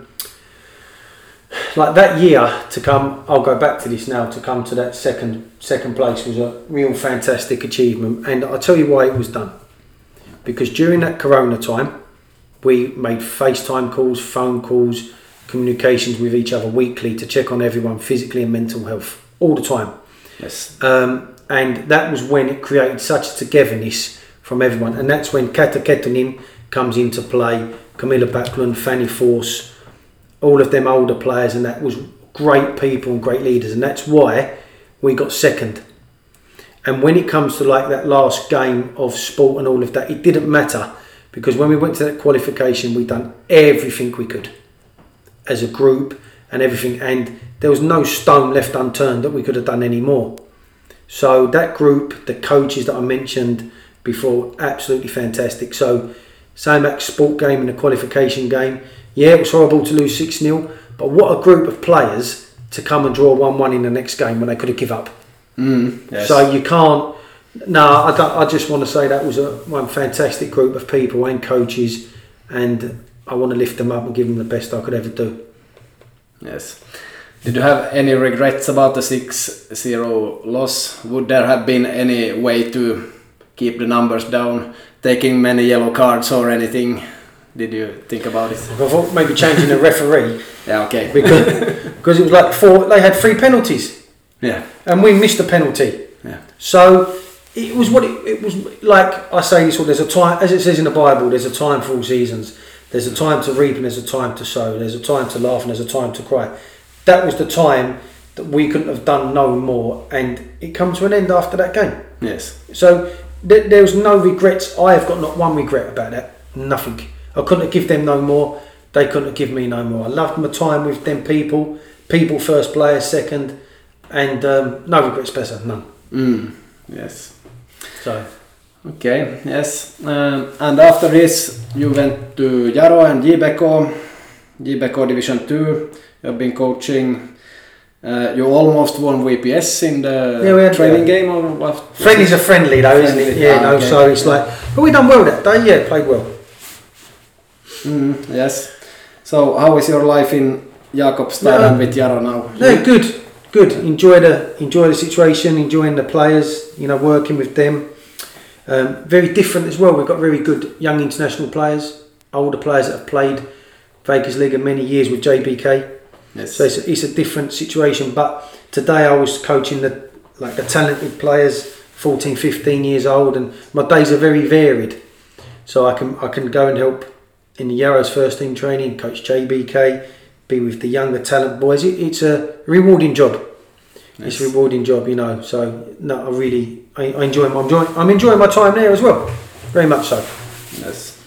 like that year to come, I'll go back to this now, to come to that second second place was a real fantastic achievement, and I'll tell you why it was done. Because during that Corona time, we made FaceTime calls, phone calls, communications with each other weekly to check on everyone physically and mental health all the time. Yes. Um, and that was when it created such a togetherness from everyone, and that's when Kata Kettunen comes into play, Camilla Backlund, Fanny Force, all of them older players, and that was great people and great leaders, and that's why we got second. And when it comes to like that last game of Sport and all of that, it didn't matter, because when we went to that qualification, we done everything we could as a group and everything, and there was no stone left unturned that we could have done any more. So that group, the coaches that I mentioned before, absolutely fantastic. So same at Sport game and the qualification game, yeah, it was horrible to lose six nil, but what a group of players to come and draw one one in the next game when they could have give up. Mm, yes. So you can't. No, I, don't, I just want to say that was a one fantastic group of people and coaches, and I want to lift them up and give them the best I could ever do. Yes. Did you have any regrets about the six zero loss? Would there have been any way to keep the numbers down, taking many yellow cards or anything? Did you think about it? I thought maybe changing the referee. Yeah, okay. Because because it was like four. They had three penalties. Yeah. And we missed a penalty. Yeah. So it was what it, it was like. I say this. Well, there's a time, as it says in the Bible. There's a time for all seasons. There's a time to reap and there's a time to sow. There's a time to laugh and there's a time to cry. That was the time that we couldn't have done no more, and it come to an end after that game. Yes. So th- there was no regrets. I have got not one regret about that. Nothing. I couldn't have given them no more. They couldn't have given me no more. I loved my time with them people. People first, players second, and um, no regrets, better none. Mm. Yes. So. Okay. Yes. Um, and after this, you went to Jaro and J B K, J B K Division Two. You've been coaching. Uh, you almost won V P S in the yeah, we had, training yeah. game, or what? Friendly's a friendly though, friendly. Isn't it? Yeah. Ah, no. Okay. So it's like, but we done well that day. Yeah, played well. Mm, yes. So how is your life in Jakobstad no, and with Jaro now? No, good, good. Enjoy the enjoy the situation, enjoying the players. You know, working with them. Um, very different as well. We've got very good young international players, older players that have played Vegas Liga many years with J B K. Yes. So it's a, it's a different situation. But today I was coaching the like the talented players, fourteen, fifteen years old, and my days are very varied. So I can I can go and help in the Jaro's first team training, coach J B K, be with the younger talent boys. It, it's a rewarding job. Yes. It's a rewarding job, you know. So no, I really I, I enjoy. I'm enjoying. I'm enjoying my time there as well. Very much so. Yes.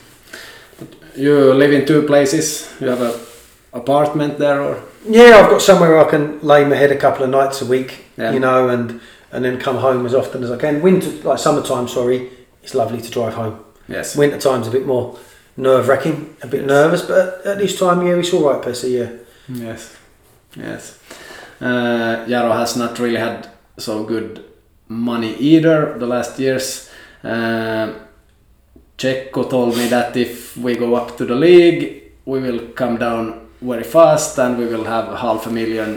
You live in two places. You have a apartment there, or? Yeah, I've got somewhere I can lay my head a couple of nights a week. Yeah. You know, and and then come home as often as I can. Winter, like summertime, sorry, it's lovely to drive home. Yes. Winter time's a bit more nerve-wracking, a bit yes. nervous, but at this time of year it's all right, Pessy, yeah. Yes, yes. Uh, Jaro has not really had so good money either the last years. Uh, Checo told me that if we go up to the league, we will come down very fast and we will have half a million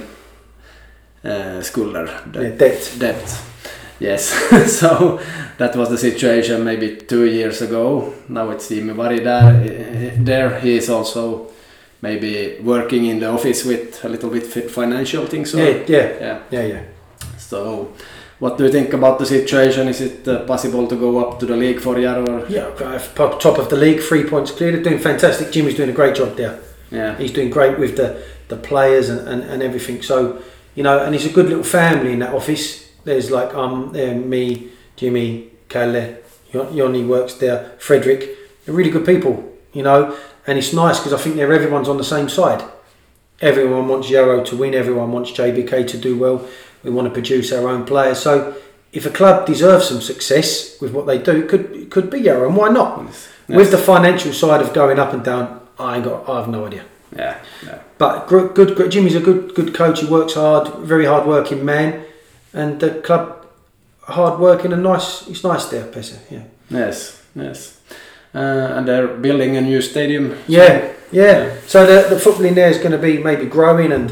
uh, skulder de- yeah, debt. debt. Yes, so that was the situation maybe two years ago. Now it's Jimmy Vari there. There he is also maybe working in the office with a little bit financial things. Or? Yeah, yeah, yeah, yeah, yeah. So, what do you think about the situation? Is it uh, possible to go up to the league for Jaro? Yeah, top of the league, three points clear. They're doing fantastic. Jimmy's doing a great job there. Yeah, he's doing great with the the players and, and, and everything. So, you know, and it's a good little family in that office. There's like um, uh, me, Jimmy, Kalle, Yoni works there, Frederick. They're really good people, you know. And it's nice because I think they're everyone's on the same side. Everyone wants Jaro to win. Everyone wants J B K to do well. We want to produce our own players. So if a club deserves some success with what they do, it could it could be Jaro, and why not? Yes. Yes. With the financial side of going up and down, I ain't got. I have no idea. Yeah. yeah. But good, good, good. Jimmy's a good, good coach. He works hard. Very hard working man. And the club, hard working and nice. It's nice there, Pessy. Yeah. Yes, yes. Uh, and they're building a new stadium. Yeah, yeah. yeah. So the the football in there is going to be maybe growing, and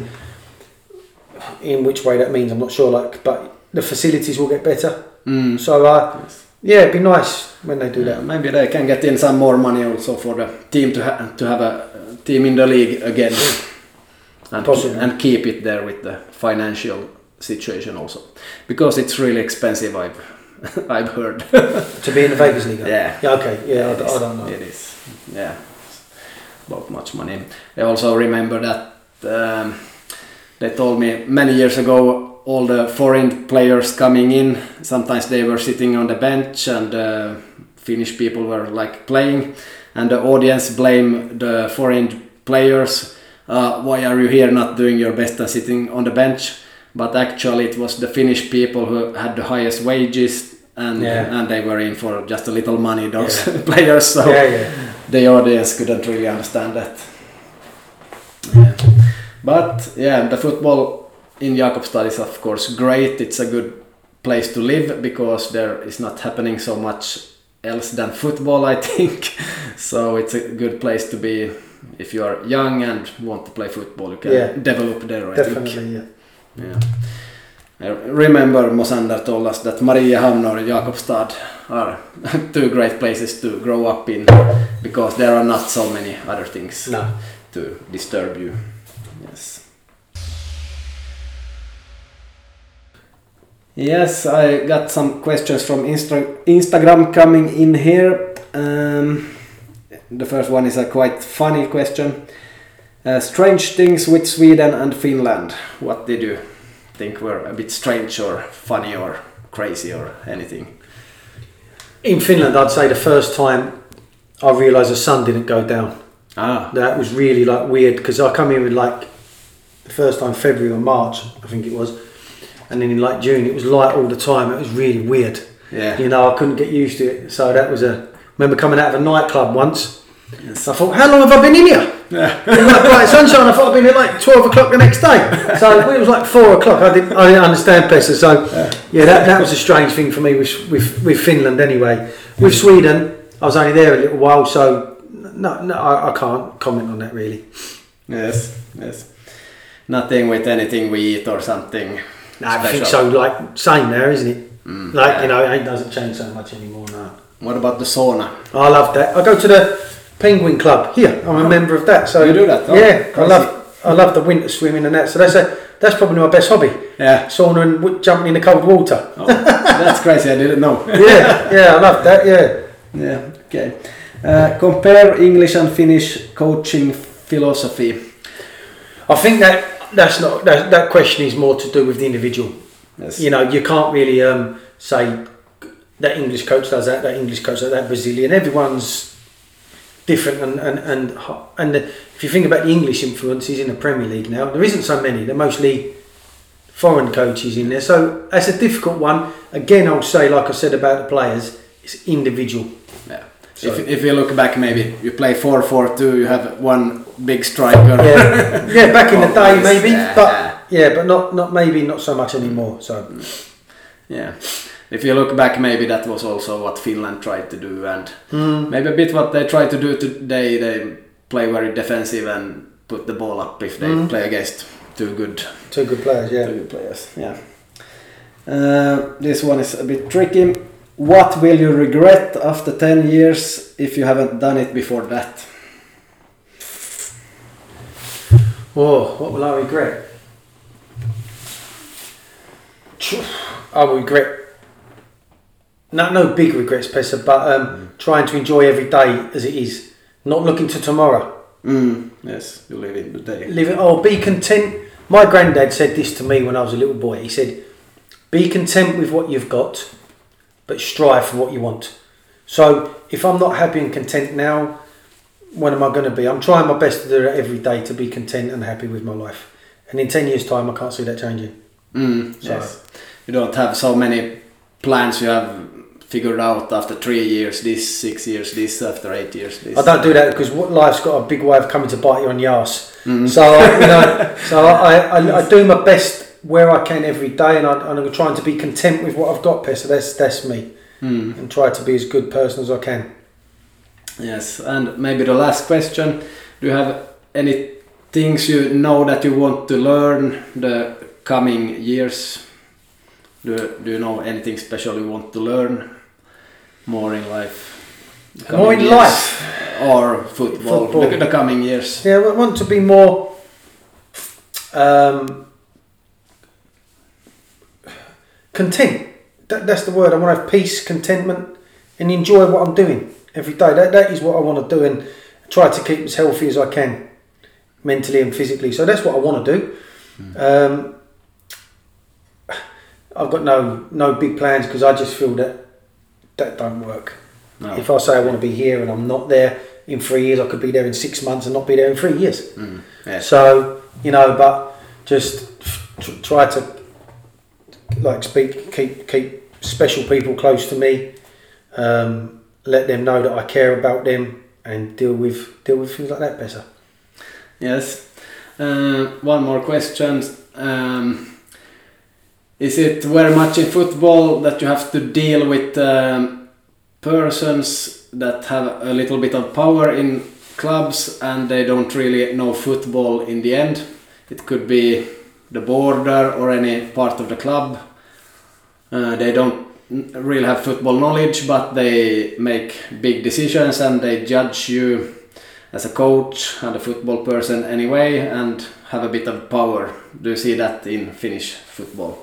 in which way that means I'm not sure. Like, but the facilities will get better. Mm. So uh, yes. yeah, it'd be nice when they do yeah, that. Maybe they can get in some more money also for the team to ha- to have a team in the league again, and Possibly. and keep it there with the financial situation also, because it's really expensive. I've I've heard to be in the Vegas League. Yeah. Yeah. Okay. Yeah. I, I don't know. It is. Yeah. About much money. I also remember that um, they told me many years ago. All the foreign players coming in. Sometimes they were sitting on the bench, and uh, Finnish people were like playing, and the audience blame the foreign players. Uh, why are you here not doing your best and sitting on the bench? But actually it was the Finnish people who had the highest wages, and yeah. and they were in for just a little money, those yeah. players, so yeah, yeah. the audience couldn't really understand that. Yeah. But yeah, the football in Jakobstad is of course great. It's a good place to live because there is not happening so much else than football, I think. So it's a good place to be if you are young and want to play football. You can yeah. develop there, I Definitely, think. yeah. Yeah. I remember Mosander told us that Mariehamn or Jakobstad are two great places to grow up in because there are not so many other things No. to disturb you. Yes. Yes, I got some questions from Insta- Instagram coming in here. Um, the first one is a quite funny question. Uh, strange things with Sweden and Finland. What did you think were a bit strange or funny or crazy or anything? In Finland, I'd say the first time I realised the sun didn't go down. Ah. That was really like weird because I come here with like the first time February or March, I think it was, and then in like June it was light all the time. It was really weird. Yeah. You know, I couldn't get used to it. So that was a. I remember coming out of a nightclub once. Yes. I thought, how long have I been in here? Yeah. In like bright sunshine. I thought I'd been here like twelve o'clock the next day. So when it was like four o'clock, I didn't, I didn't understand Pessa. So yeah, yeah that, that was a strange thing for me with, with, with Finland anyway. With Sweden, I was only there a little while, so no, no, I, I can't comment on that really. Yes, yes. Nothing with anything we eat or something. No, I think so. Like same there, isn't it? Mm, like yeah. you know, it doesn't change so much anymore. No. What about the sauna? I love that. I go to the Penguin Club here. I'm a member of that. So You do that? Oh, yeah, I crazy. love I love the winter swimming and that. So that's a that's probably my best hobby. Yeah. Sauna and w- jumping in the cold water. Oh, that's crazy. I didn't know. yeah, yeah, I love that. Yeah. Yeah. Okay. Uh, compare English and Finnish coaching philosophy. I think that that's not that, that question is more to do with the individual. Yes. You know, you can't really um, say that English coach does that, that English coach does that, Brazilian. Everyone's different, and and and and the, if you think about the English influences in the Premier League now, there isn't so many. They're mostly foreign coaches in there, so that's a difficult one. Again, I'll say, like I said about the players, it's individual. Yeah. So, If if you look back, maybe you play four four two. You have one big striker. yeah, yeah, back in the day Always, maybe, yeah, but yeah. yeah, but not not maybe not so much anymore. So Yeah. If you look back, maybe that was also what Finland tried to do, and mm. maybe a bit what they try to do today. They play very defensive and put the ball up if they Mm. play against two good, two good players. Yeah. two good players. Yeah. Uh, this one is a bit tricky. What will you regret after ten years if you haven't done it before that? Oh, what will I regret? I will regret. No, no big regrets, Pessa, but um, mm. trying to enjoy every day as it is, not looking to tomorrow. Mm, yes, you live in the day. Live it. Oh, be content. My granddad said this to me when I was a little boy. He said, "Be content with what you've got, but strive for what you want." So if I'm not happy and content now, when am I going to be? I'm trying my best to do it every day to be content and happy with my life. And in ten years' time, I can't see that changing. Mm, so. Yes. You don't have so many plans you have figured out after three years, this, six years, this, after eight years, this. I don't do that because life's got a big way of coming to bite you on the arse. Mm. So, you know, so I, I, I do my best where I can every day, and, I, and I'm trying to be content with what I've got, Pessa. That's, that's me. Mm. And try to be as good person as I can. Yes, and maybe the last question. Do you have any things you know that you want to learn the coming years? Do, do you know anything special you want to learn more in life? More in years? life? Or football, Football. The, the coming years? Yeah, I want to be more um, content. That, that's the word. I want to have peace, contentment, and enjoy what I'm doing every day. That, that is what I want to do, and try to keep as healthy as I can, mentally and physically. So that's what I want to do. Mm. Um, I've got no no big plans because I just feel that that don't work. No. If I say I want to be here and I'm not there in three years, I could be there in six months and not be there in three years. Mm. Yeah. So, you know, but just t- try to like speak, keep keep special people close to me, um, let them know that I care about them, and deal with deal with things like that better. Yes. Uh, one more question. Um, is it very much in football that you have to deal with um, persons that have a little bit of power in clubs and they don't really know football in the end? It could be the border or any part of the club. Uh, they don't really have football knowledge, but they make big decisions and they judge you as a coach and a football person anyway and have a bit of power. Do you see that in Finnish football?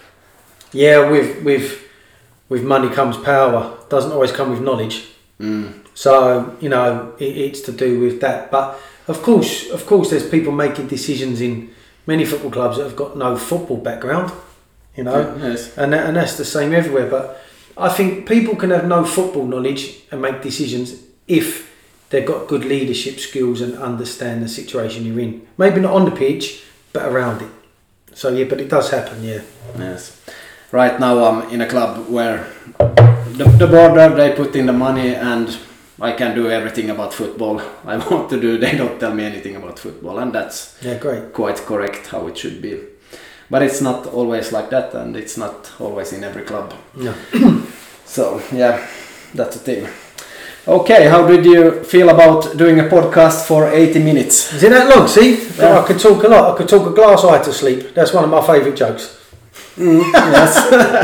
Yeah, with with with money comes power. Doesn't always come with knowledge. Mm. So you know it, it's to do with that. But of course, of course, there's people making decisions in many football clubs that have got no football background. You know, Yeah, yes. and that, and that's the same everywhere. But I think people can have no football knowledge and make decisions if they've got good leadership skills and understand the situation you're in. Maybe not on the pitch, but around it. So yeah, but it does happen. Yeah. Yes. Right now I'm in a club where the, the border, they put in the money and I can do everything about football I want to do. They don't tell me anything about football, and that's Yeah, great. quite correct how it should be. But it's not always like that, and it's not always in every club. No. So yeah, that's the thing. Okay, how did you feel about doing a podcast for eighty minutes? Is it that long? See, Yeah. I could talk a lot. I could talk a glass eye to sleep. That's one of my favourite jokes. Mm, yes.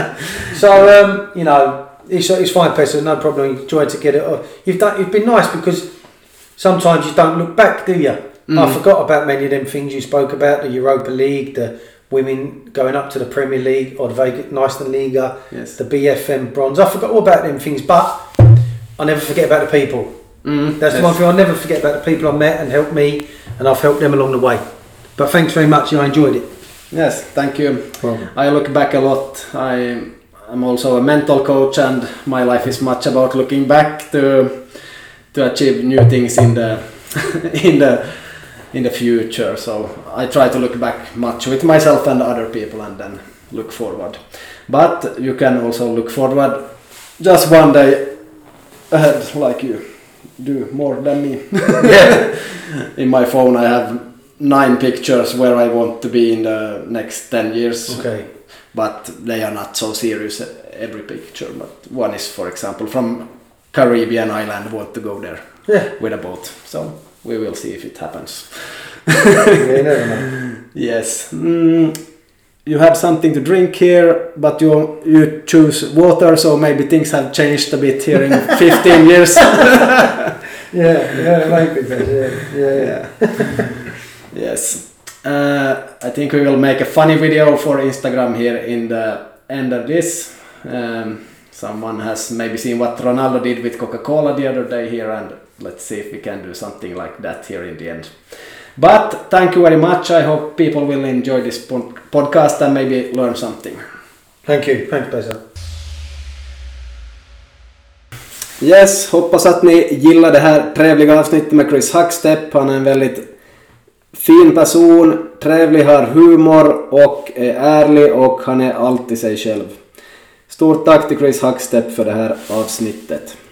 So um, you know, it's it's fine, Pessa. No problem. You enjoyed to get it. off. You've done. You've been nice because sometimes you don't look back, do you? Mm. I forgot about many of them things you spoke about: the Europa League, the women going up to the Premier League or the Vegas Nationalliga, Yes. the B F M bronze. I forgot all about them things, but I never forget about the people. Mm, That's the yes. one thing I'll never forget about the people I met and helped me, and I've helped them along the way. But thanks very much. I enjoyed it. Yes, thank you. Well, I look back a lot. I am also a mental coach, and my life is much about looking back to to achieve new things in the in the in the future. So I try to look back much with myself and other people, and then look forward. But you can also look forward just one day ahead, like you do more than me. yeah. In my phone, I have nine pictures where I want to be in the next ten years. Okay. But they are not so serious, every picture. But one is, for example, from Caribbean island, want to go there Yeah. with a boat. So we will see if it happens. Yeah, you never know. Yes. Mm, you have something to drink here, but you you choose water, so maybe things have changed a bit here in fifteen years. Yeah, yeah, maybe. Yeah, yeah, yeah. Yes. Uh, I think we will make a funny video for Instagram here in the end of this. Um, someone has maybe seen what Ronaldo did with Coca-Cola the other day here, and let's see if we can do something like that here in the end. But thank you very much. I hope people will enjoy this podcast and maybe learn something. Thank you. Thanks, Pessa. Yes, hoppas att ni gillar det här trevliga avsnittet med Chris Hackstepp. Han är en väldigt fin person, trevlig, har humor och är ärlig, och han är alltid sig själv. Stort tack till Chris Hackstepp för det här avsnittet.